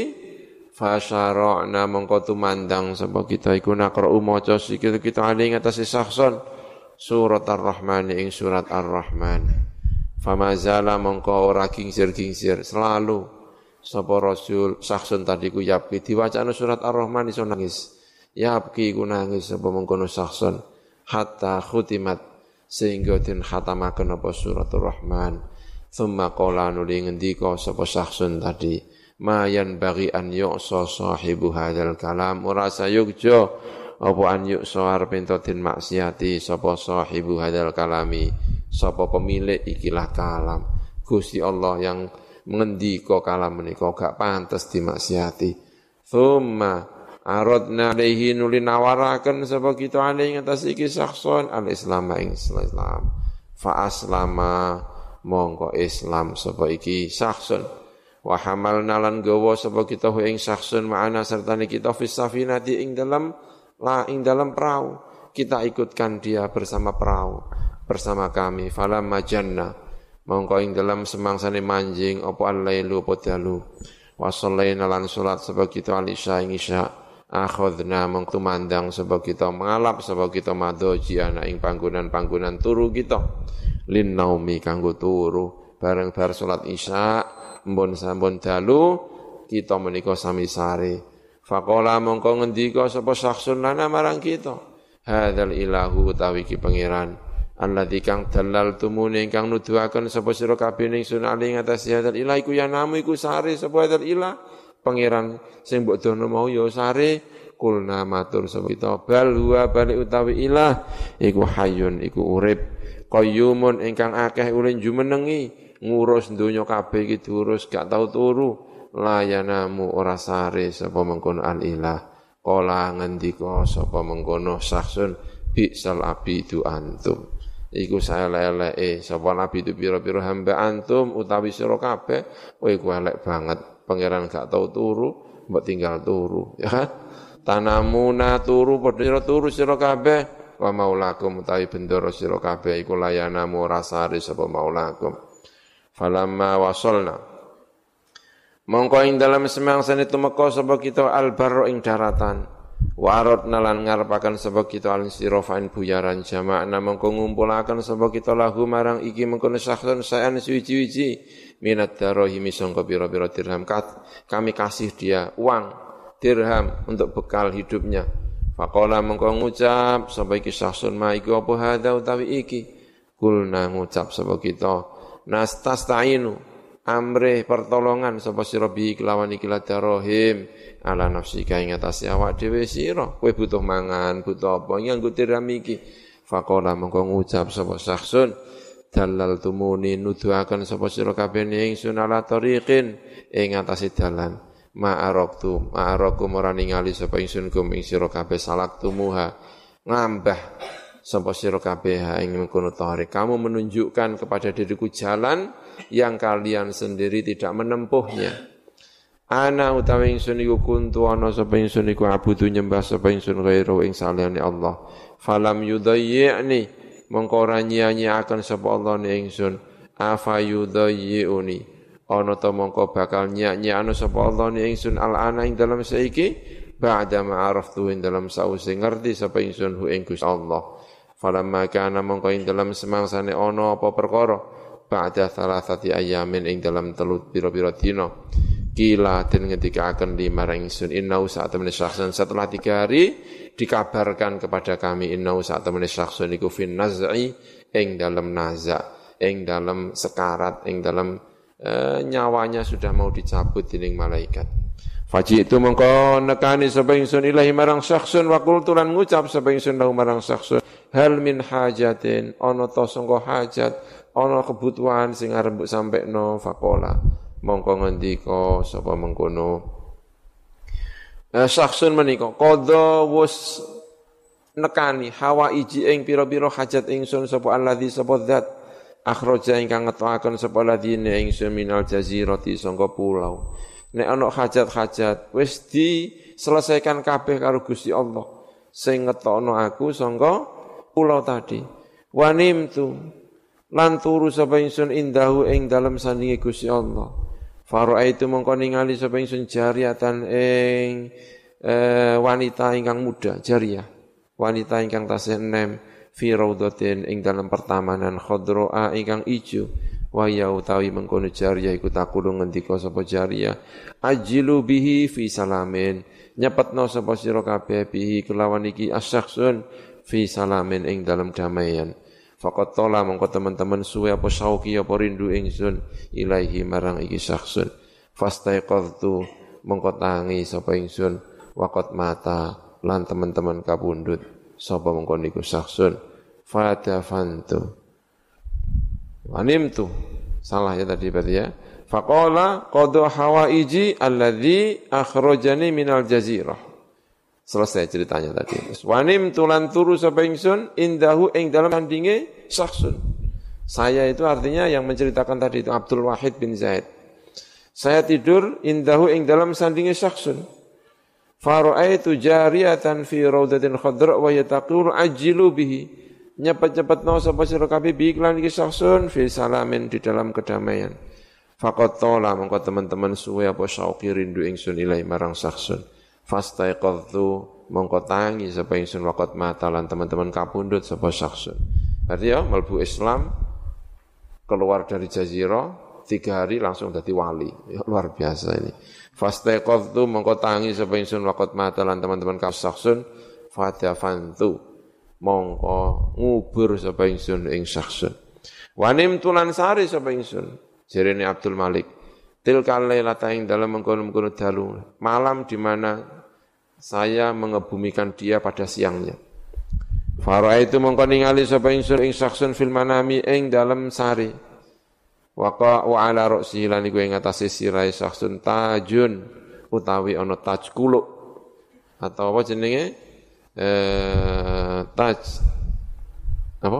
fasyara'na mongko tumandang sapa kita iku naqra'u maca sikil kita ing atase sakson surat Ar-Rahman ing surat Ar-Rahman. Famazala mongko ora kingsir-kingsir selalu sapa Rasul sakson tadi ku yapki diwacana surat Ar-Rahman iso nangis. Yapki ku nangis sapa mengkono sakson hatta khutimat sehingga den khatamaken apa suratul Rahman. Tsumma qala nuli ngendika sapa sakson tadi, mayan bagi an yu'sa sahibu hadzal kalam ora sayugja apa an yu'sa arep ento den maksiati sapa sahibu hadzal kalami, sapa pemilik ikilah kalam. Gusti Allah yang ngendika kalam menika gak pantes dimaksiati. Tsumma aradna alaihi nuli nawaraken sapa kita alaihi atas iki sakson al-islam ing Islam. Fa aslama mongko Islam sapa iki sakson. Wa hamalna lan gawa sapa kita ing sakson ma'ana sertane kita fis safinati ing dalam perahu. Kita ikutkan dia bersama perahu bersama kami. Falam majanna mongko ing dalam semangsane manjing apa al-lailu apa dalu. Wa shallaina lan salat sapa kita al-isya ing isya. Akhadna mengtumandang sebab kita mengalap sebab kita madoji ana ing panggonan-panggonan turu kita lin naumi kanggo turu bareng bar salat isya mbon sampun dalu kita menika sami sare faqala mongko ngendika sapa saksun lana marang kita hadzal ilahu utawi ki pangeran alladzi kang dalal tumune ingkang nuduhaken sapa sira kabeh ning sunali ngatas hadzal ilah iku ya namu iku sare sapa hadzal ilah pangeran sing mbok dono mau ya sare kulna matur sapa kita bal huwa bali utawi ilah iku hayyun iku urip qayyumun ingkang akeh ulin jumenengi ngurus donya kabeh iki diurus gak tau turu layanamu ora sare sapa mengkono al ilah kala ngendika sapa mengkono saksun bisal abidu antum iku saelek-eleke sapa nabi itu pira-pira hamba antum utawi sira kabeh kowe iku elek banget. Pangeran gak tau turu, mbok tinggal turu, ya kan? Tanamuna turu padha turu sira kabeh, wa maulakum utawi bendoro sira kabeh iku layanamu rasari sapa maulakum. Falamma wasolna. Mongko ing dalam semangsane tumeka sapa kita albarro ing daratan. Wa aradna lan ngarepaken sapa kita al-sirafain buyaran jama'na mongko ngumpulaken sapa kita lahu marang iki mengkono sakson sayan suwi-wiji minat darahimi sangka pira-pira dirham kami kasih dia uang dirham untuk bekal hidupnya. Faqala mengko ngucap sapa iki saksun ma iku apa hadza utawi iki kulna ngucap sapa kita nasta'inu amre pertolongan sapa sira bi kelawan iki darahim ala nafsika ing atase awak dhewe sira kowe butuh mangan butuh apa nganggo dirham iki. Faqala mengko ngucap sapa saksun dalal tumuni nuduhaken sapa sira kabeh ing sunala tariqin ing atase dalan ma'arakum ora ningali sapa ingsun kum ing sira kabeh salak tumuha ngambah sapa sira kabeh ing mengkono tariq kamu menunjukkan kepada diriku jalan yang kalian sendiri tidak menempuhnya. Ana utawi ingsun iku kuntu ana sapa ingsun iku abudu nyembah sapa ingsun ghairu ing saliyane Allah falam yudayyi'ni mongko ora nyanyiaken sapa Allah ning ingsun afa yudayyi'uni ana ta mongko bakal nyanyiakno sapa Allah ning ingsun al-ana ing dalam saiki ba'da ma'araftu ing dalam sause ngerti sapa ingsun hu ing Gusti Allah falamma kana mongko ing dalam semangsane ana apa perkara ba'da thalathati ayamin ing dalam telut pira-pira dina Kila dan ketika akan dimarang ingsun innau sa'atamani syakhsun, setelah 3 hari dikabarkan kepada kami innau sa'atamani syakhsun iku fin naz'i ing dalam naza', ing dalam sekarat, ing dalam nyawanya sudah mau dicabut dening malaikat. Faji itu mengko nekani sapa ingsun ilahi marang syakhsun wa qultu lan ngucap sapa ingsun lahu marang syakhsun hal min hajatin, ana ta sangka hajat, ana kebutuhan sing arep mbok sampekno. Faqala mongko ngendika sapa mengkono syakhsun menika qadha wus nekani hawaiji ing pira-pira hajat ingsun sapa alladzi sapa zat akhraja ingkang ngetokaken sapa ladine ingsun minal jazirati sangka pulau. Nek ana hajat-hajat wis diselesaikan kabeh karo Gusti Allah sing ngetokno aku sangka pulau tadi. Wanimtu lan turu sapa ingsun indahu ing dalem sandinge Gusti Allah. Fara'aitu mongko ningali sapa ingsun jariyatan ing wanita ingkang muda, jariyah. Wanita ingkang tasih enem fi raudhatin ing dalam pertamanan khadraa ingkang ijo. Wa ya utawi mengkono jariyah iku takulu ngendika sapa jariyah, ajilu bihi fi salamin. Nyepetno sapa sira kabeh bihi kelawan iki asyakhsun fi salamin ing dalam damaian. Faqat tola mongko teman-teman suwe apa syauqi apa rindu ingsun ilaihi marang iki syakhsun. Fastaiqadtu mongko tangi sapa ingsun waqat mata lan teman-teman kapundhut sapa mongko niku syakhsun. Fadafantu wanimtu salah ya tadi berarti ya. Faqala qadu hawaiji alladzi akhrajani minal jazirah. Selesai ceritanya tadi. Wanim tulan turu sapa ingsun indahu ing dalam sandinge syakhsun. Saya itu artinya yang menceritakan tadi itu Abdul Wahid bin Zaid. Saya tidur indahu ing dalam sandinge syakhsun. Fara'aitu jariyatan fi raudatin khadra wa yataqulu ajilu bihi. Nyepet-nyepetno sapa sira kabeh bi iklan iki syakhsun fi salamin di dalam kedamaian. Faqat tola mongko teman-teman suwe apa syauqi rindu ingsun ilai marang syakhsun. Fastaiqadtu mongko tangi sapa ingsun waqat mata lan teman-teman kapundhut sapa syakhsun. Berarti ya mlebu Islam keluar dari jazirah 3 hari langsung jadi wali. Ya, luar biasa ini. Fastaiqadtu mongko tangi sapa ingsun waqat mata lan teman-teman syakhsun fadafantu mongko ngubur sapa ingsun ing syakhsun. Wanim tulan sari sapa ingsun jarene Abdul Malik tilkal lailata ing dalam mengkono-mengkono dalu malam di mana saya mengebumikan dia pada siangnya. Fara'aitu mongko ningali sapa ingsun ing syakhsun fil manami ing dalam sari. Waqa wa ala ra'sihi lan iku ing atase sirahe syakhsun tajun utawi ana taj kuluk atau apa jenenge taj apa?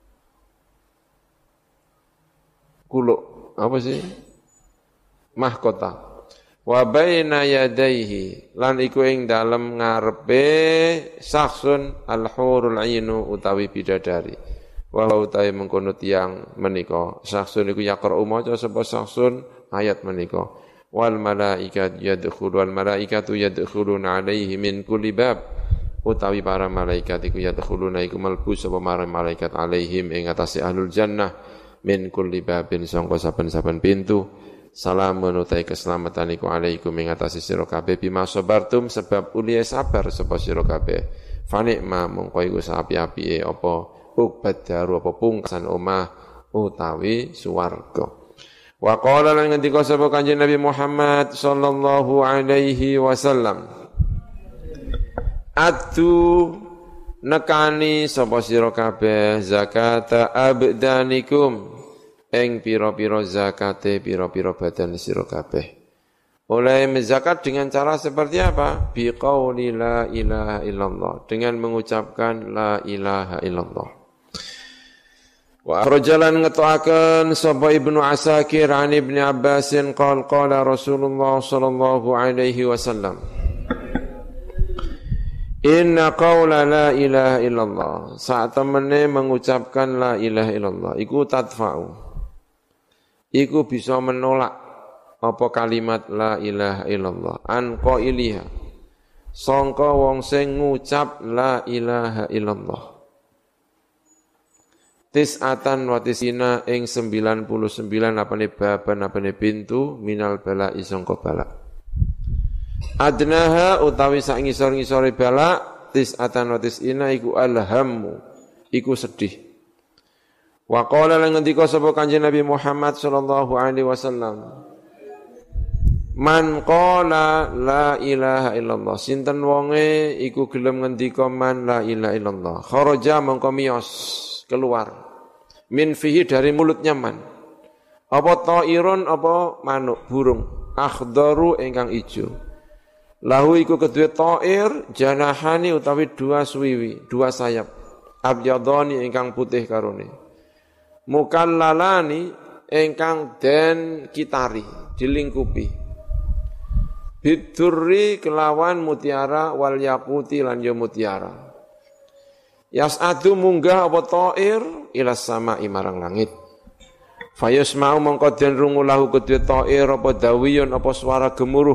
Kuluk apa sih? Mahkota. Wa baina yadaihi lan iku ing dalem ngarepe syakhsun al-hurul ainu utawi bidadari. Wa utawi mengkono tiyang menika syakhsun iku yaqra'u maca sapa syakhsun ayat menika. Wal malaikatu yadkhuluna alaihi min kulli bab utawi para malaikat iku yadkhuluna iku mlebu sapa marang malaikat alaihim ing atase ahlul jannah min kulli babin sangka saben-saben pintu. Salamun utai keselamatan iku alaikum ing atase sira kabeh bima sabartum sebab uliya sabar sapa sira kabeh. Fa nikma mongko iku sapi-apike apa ubat daru apa pungkasan omah utawi swarga. Wa qala lan ngendika sapa Kanjeng Nabi Muhammad sallallahu alaihi wasallam. Atu nekani sapa sira kabeh zakata abdanikum ing pira-pira zakate pira-pira badan sira kabeh. Oleh menzakat dengan cara seperti apa? Bi qauli la ilaha illallah, dengan mengucapkan la ilaha illallah. Wa akhrajalan ngetoaken sapa Ibnu Asakir an Ibnu Abbasin qala Rasulullah sallallahu alaihi wasallam. Inna qawla la ilaha illallah, saat temene mengucapkan la ilaha illallah iku tadfa'u, iku bisa menolak apa kalimat la ilaha illallah an qailiha sangka wong sing ngucap la ilaha illallah. tis'atan wa tisina ing 99 apane baban apane pintu minal bala sangka bala. Adnaha utawi sak ngisor-ngisore bala tis'atan wa tisina iku alhammu iku sedih. Wa qala lan ngendika sapa Kanjeng Nabi Muhammad sallallahu alaihi wasallam, man qala la ilaha illallah, sinten wonge iku gelem ngendika man la ilaha illallah, kharaja mongko miyos keluar min fihi dari mulutnya man, apa ta'irun apa manuk burung, akhdaru ingkang ijo, lahu iku kedue ta'ir janahani utawi dua suwiwi dua sayap, abyadani ingkang putih karone, mukallalani ingkang den kitari dilingkupi, bidurri kelawan mutiara wal yaquti lan ya mutiara. Yas'adu munggah apa ta'ir ila sama'i marang langit. Fayusma'u mongko den rungu lahu kedue ta'ir apa dawiyun apa suara gemuruh.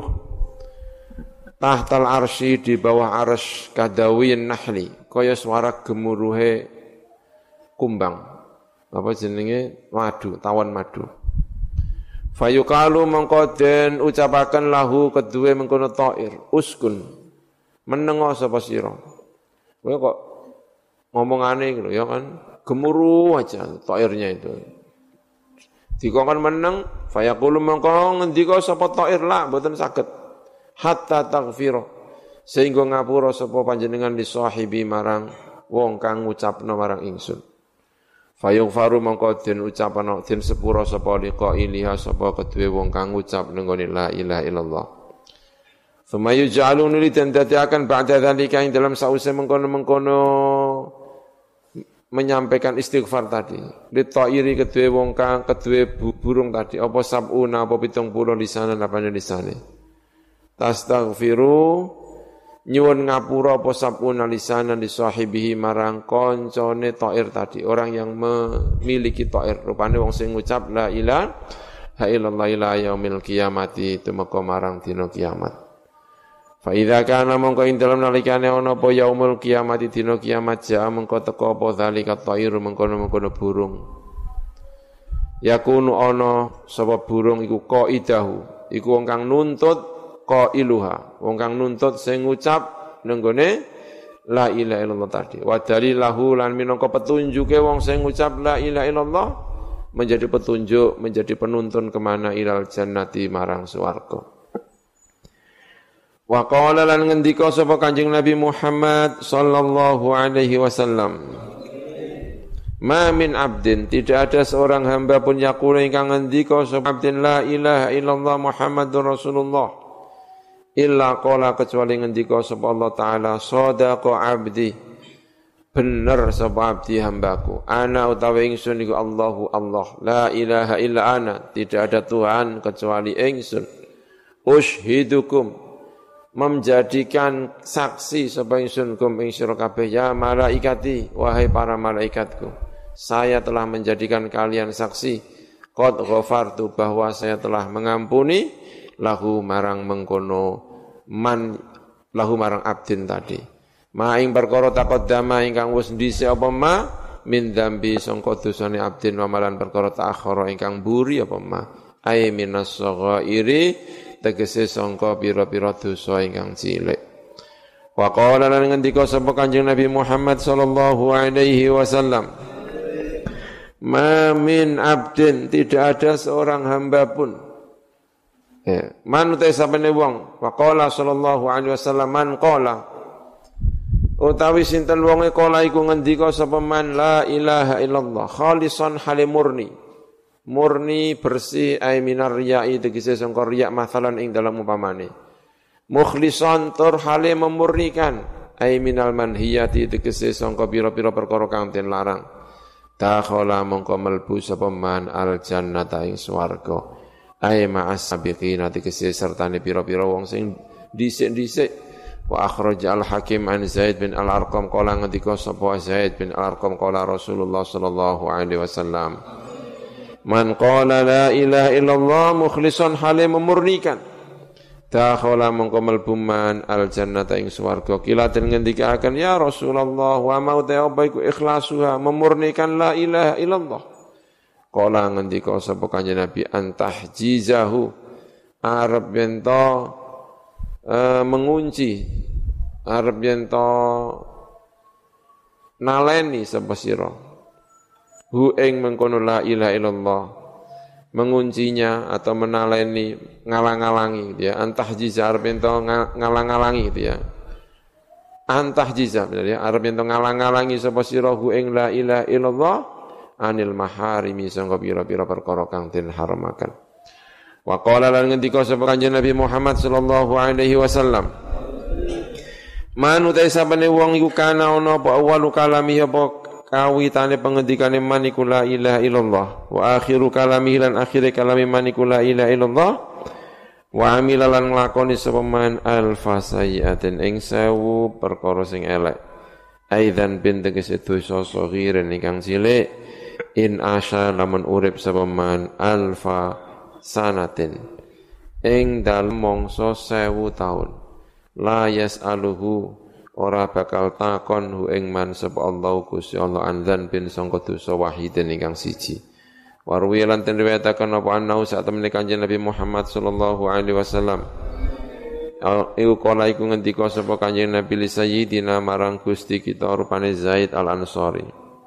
Tahtal arsy di bawah arsy kadawiyin nahli, kaya suara gemuruhe kumbang. Apa jenenge? Madu, tawon madu. Fayuqalu mongko den ucapaken lahu kedue mengkono ta'ir, uskun. Menengo sapa sira. Kowe kok ngomongane gitu ya kan, gemuruh aja ta'irnya itu. Dikongkon meneng, fayaqulu mongko ngendika sapa ta'ir la mboten saged hatta taghfira, sehingga ngapura sapa panjenengan li sahibi marang wong kang ngucapna marang ingsun. Fayughfaru mongko den ucapana den sepura sapa liqa iliha sapa kedue wong kang ngucap nggone la ilaha illallah. Summa yuj'alun li tendatiakan ba'da dzalika ing dalam sause mengkono-mengkono menyampaikan istighfar tadi. Li ta'iri kedue wong kang kedue burung tadi apa sabuna apa 70 lisanan apane lisane. Tastaghfiru nyuwun ngapura apa sabuna lisanan di sahibihi marang koncone ta'ir tadi, orang yang memiliki ta'ir rupane wong sing ngucap la ilaha illallah ila yaumil qiyamati tumeka marang dina kiamat. Fa idza kana mongko ing dalem nalikane ana apa yaumul qiyamati dina kiamat ja mongko teka apa zalika ta'iru mengkono-mengkono burung. Yakunu ana sapa burung iku qaidahu, iku wong kang nuntut qailuha, wong kang nuntut sing ngucap nenggone la ilaha illallah tadi. Wa dalilahu lan minangka petunjuke wong sing ngucap la ilaha illallah menjadi petunjuk, menjadi penuntun kemana ilal jannati marang swarga. Wa qala lan ngendika sapa Kanjeng Nabi Muhammad sallallahu alaihi wasallam, ma min abdin, tidak ada seorang hamba pun yaqulu ingkang ngendika sapa abdin la ilaha illallah Muhammadur Rasulullah illa qala kecuali ngendika sapa Allah taala sadaqa abdi, bener sapa abdi hambaku, ana utawi ingsun iku Allahu Allah, la ilaha illa ana, tidak ada Tuhan kecuali ingsun, ushidukum menjadikan saksi sapa ingsun kum ing sira kabeh ya malaikati, wahai para malaikatku, saya telah menjadikan kalian saksi qad ghafartu, bahwa saya telah mengampuni lahu marang mengkono man lahu marang abdin tadi, ma ing perkara taqaddama ingkang wis dhisik apa ma min dzambi sangka dosane abdin wa malan perkara ta'akhkhara ingkang buri apa ma ay minas saghairi tegese sangka pira-pira dosa ingkang cilik. Wa qala lan ngendika sapa Kanjeng Nabi Muhammad sallallahu alaihi wasallam, ma min abdin, tidak ada seorang hamba pun man utai sapane wong, wa qala sallallahu alaihi wasallam man qala utawi sinten wonge qala iku ngendika sapa man la ilaha illallah khalisan halimurni, murni bersih ay minar riya'i tegese sangka riya masalan ing dalam umpamane, mukhlisan tur hale memurnikan ay minal manhiyati tegese sangka pira-pira perkara kang den larang, dakhala mongko mlebu sapa man al jannata ing swarga ay ma'as sabiqina tegese sertane pira-pira wong sing dhisik-dhisik. Wa akhraja al-Hakim an Zaid bin al-Arqam qala ngendika sapa Zaid bin al-Arqam qala Rasulullah sallallahu alaihi wasallam, man qala la ilaha illallah mukhlishan halim memurnikan dakhala mongko mlebu man al jannata ing swarga. Kila den ngendikaken ya Rasulullah wa mau ta apa iku ikhlasuha memurnikan la ilaha illallah. Kala ngendika sapa kanjeng Nabi antahjizahu arep yen to mengunci arep yen to naleni sapa sira hu ing mengkono la ilaha illallah menguncinya atau menaleni ngalang-alangi gitu ya antahjiza arep yen to ngalang-alangi gitu ya antahjiza bener ya arep yen to ngalang-alangi sapa sira hu ing la ilaha illallah anil maharimi sangka pira-pira perkara kang den haramaken. Wa qala lan ngendika sapa kanjeng Nabi Muhammad sallallahu alaihi wasallam man utai sabane wong iku kana ana apa awalu kalami apa kawitane pengendikane man iku la ilaha illallah wa akhiru kalami lan akhire kalami man iku la ilaha illallah wa amila lan nglakoni sapa man alfa sayyi'atin ing 1000 perkara sing elek aidan bin tegese dosa saghiren ingkang cilik in asya lamun urip sapa man alfa sanatin ing dalem mangsa 1000 taun la yas'aluhu ora bakal takon hu ing man sapa Allah Gusti Allah andzan bin sangka dosa wahidin ingkang siji. Warwi lan den riwayataken apa anau sak temene Kanjeng Nabi Muhammad sallallahu alaihi wasallam. Iku kala iku ngendika sapa Kanjeng Nabi li sayyidina marang Gusti kita rupane Zaid al-Ansari.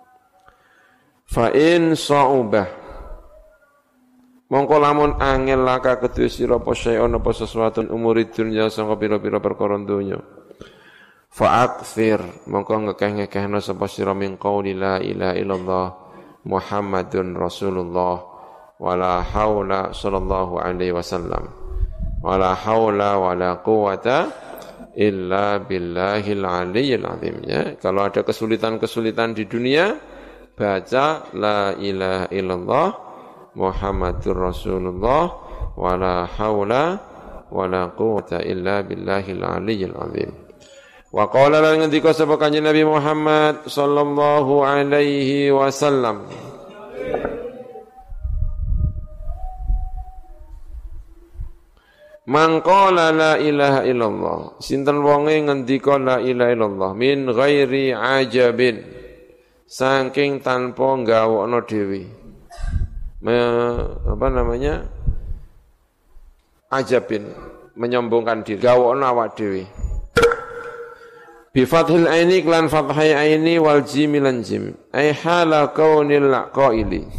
Fa in sa'ubah mongko lamun angel laka kedue sira apa sayon apa sesuatu umurid dunya sangka pira-pira perkara donya. Fa'akthir mongko ngekeh-ngekehna sapa sira min qauli la ilaha illallah Muhammadun Rasulullah wala haula sallallahu alaihi wasallam wala haula wala quwata illa billahil aliyyil azim ya. Kalau ada kesulitan-kesulitan di dunia baca la ilaha illallah Muhammadur Rasulullah wala haula wala quwata illa billahil aliyyil azim. Wa qala lan ngendika sapa Kanjeng Nabi Muhammad sallallahu alaihi wasallam man qala la ilaha illallah sinten wonge ngendika la ilaha illallah min ghairi ajabin saking tanpa gawokno dhewe ajabin menyombongkan diri gawokno awak dhewe bi fathil aini lan fathai aini wal jim lan jim ai hala kaunil qaili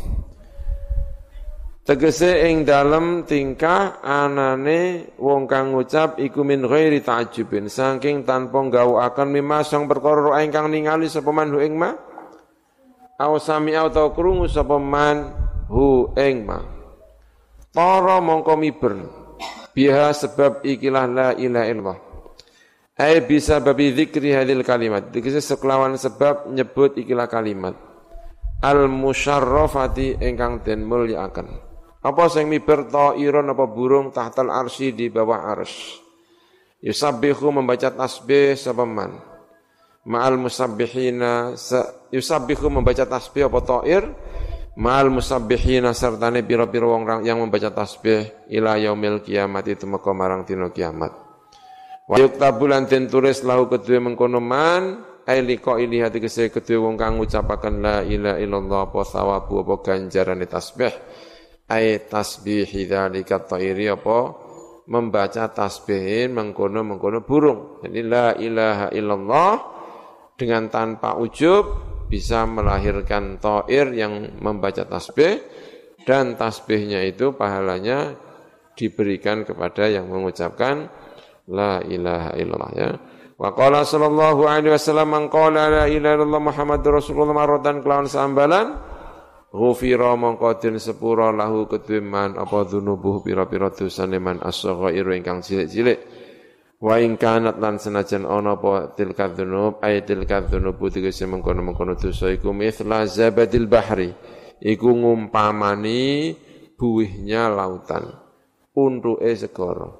tegese ing dalem tingkah anane wong kang ngucap iku min ghairi ta'ajjubin saking tanpa gawukaken mimasang perkara ingkang ningali sapa man hu ing ma aw sami atau krungu sapa man hu ing ma para mongko miber biha sebab ikilah la ilaha illallah ai bisa babi dzikri hadil kalimat dikese sekelawan sebab nyebut ikilah kalimat al musyarrafati ingkang den mulyakaken apa sing miber ta'irun apa burung tahtal arsy di bawah arsy yusabbihu membaca tasbih sapa man ma'al musabbihina yusabbihu membaca tasbih apa ta'ir ma'al musabbihina sertane pira-pira wong yang membaca tasbih ila yaumil kiamat itu maka marang dina kiamat. Wa yuktabu lan den tulis lahu kedue mengkono man ai liqa ili hati kese kedue wong kang ngucapaken la ilaha illallah apa sawabu apa ganjarane tasbih ai tasbih dzalika ta'iri apa membaca tasbihin mengkono burung. Jadi la ilaha illallah dengan tanpa ujub bisa melahirkan ta'ir yang membaca tasbih dan tasbihnya itu pahalanya diberikan kepada yang mengucapkan la ilaha illallah ya. Wa qala sallallahu alaihi wasallam man qala la ilaha illallah Muhammadur Rasulullah marratan kelawan sambalan ghufira mongko den sepura lahu kedue man apa dzunubuh pira-pira dosane man as-saghairu ingkang cilik-cilik wa ing kanat lan senajan ana apa tilka dzunub ay tilka dzunubu tegese mengkono-mengkono dosa iku mithla zabadil bahri iku ngumpamani buihnya lautan untuke segara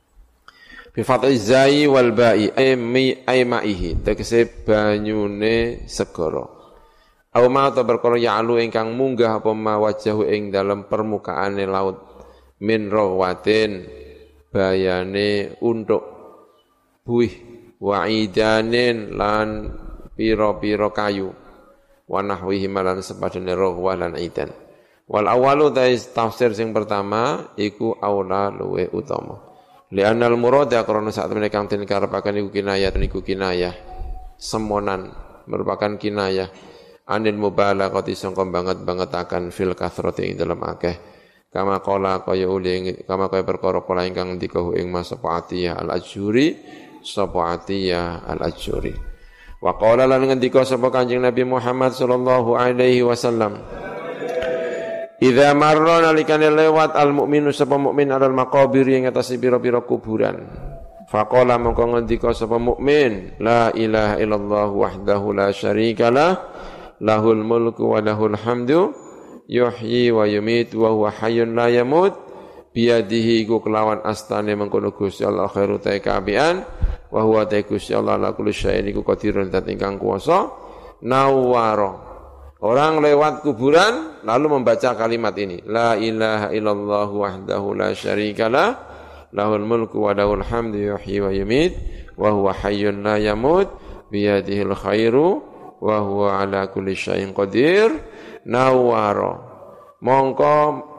bi fathi zai wal ba'i ay ma'ihi tegese banyune segara aw ma ta perkara ya'lu ingkang munggah apa ma wajahu ing dalam permukaane laut min rawatin bayane untuk buih wa idanin lan pira-pira kayu wa nahwihi malan sepadane rohwa lan idan. Wal awalu tafsir sing pertama iku aula luwe utama. Li'annal murada karena saat mereka kang den karepaken iku kinayah semonan merupakan kinayah anil mubalaghati sangka banget-bangetaken fil kathrati ing dalam akeh kama qala kaya perkara kala ingkang ndika ing sapa Atiyah al-Ajuri sapa Atiyah al-Ajuri wa qala lan ngendika sapa Kanjeng Nabi Muhammad sallallahu alaihi wasallam idza marra nalikane lewat al-mukminu sapa mukmin alal maqabir ing atase pira-pira kuburan. Faqala mongko ngendika sapa mukmin, la ilaha illallah wahdahu la syarikalah, lahul mulku wa lahul hamdu, yuhyi wa yumiitu wa huwa hayyun la yamut, biyadihi iku kelawan astane mengkono Gusti Allah khairu ta kabian, wa huwa ta Gusti Allah la kulli syai'in iku qadirun zat ingkang kuwasa, nawwara. Orang lewat kuburan lalu membaca kalimat ini. La ilaha illallah wahdahu la syarikalah. Lahul mulku wa lahul hamdu yuhyi wa yumit. Wa huwa hayyun la yamut. Biyadihil khairu. Wa huwa ala kulli syai'in qadir. Nawwara. Mongko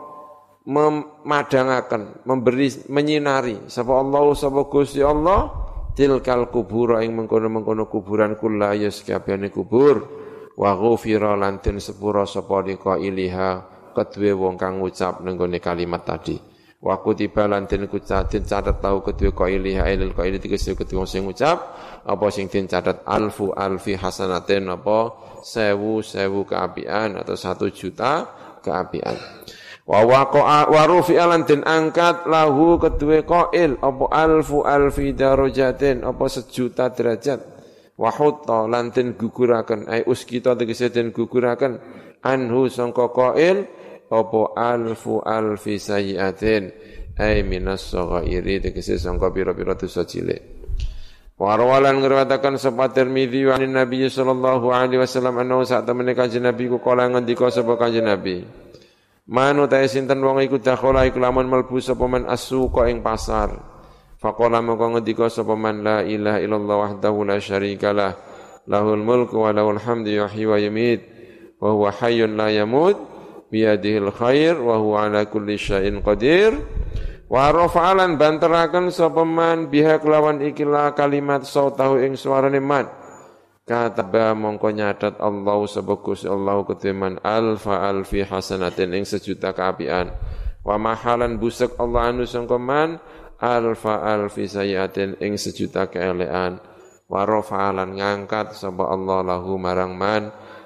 memadangaken, menyinari. Sapa Allah, sapa Gusti Allah. Tilkal kubura ing mengkono-mengkono kuburan kula ya sekabehane kubur. Wa ghufira lan den sepura sapa liqa-iliha kedue wong kang ngucap nenggone kalimat tadi wa kutiba lan den catet tau kedue qailiha ilal qaili tegese kedue sing ngucap apa sing den catet alfi hasanatin apa 1000 keapian atau 1.000.000 keapian wa waqa'a wa rufi'a lan den angkat lahu kedue qail apa alfi darajatin apa 1.000.000 derajat wa hutta lan den guguraken ai uskita tegese den guguraken anhu sangka qail apa alfi sayyiatin ai minas saghairi tegese sangka pira-pira dosa cilik wa rawalan ngriwayataken sapa Tirmidzi wa Nabi sallallahu alaihi wasallam annahu sak temene kanjeng Nabi ku kala ngendika sapa kanjeng Nabi manu ta sinten wong iku dakhala iku lamun mlebu sapa man asuqa ing pasar faqala maka ngendika sapa man la ilaha illallah wahdahu la syarikalah lahul mulku wa lahul hamdu yuhyi wa yumiit wa huwa hayyun la yamut biyadihil khair wa huwa ala kulli syai'in qadir wa rafa'alan banteraken sapa man biha kelawan ikilah kalimat sautahu ing suarane man kataba mongko nyatet Allah sapa Gusti Allah keteman alfi hasanatin ing 1.000.000 kaapian wa mahalan busek Allah anu sangka man alfi sayyatin ing 1.000.000 keelean wa rafa'alan ngangkat sapa Allah lahu marang man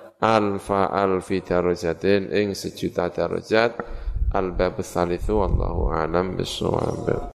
alfi darajatin ing 1.000.000 darajat al-bab tsalitsu wallahu a'lam bissawab.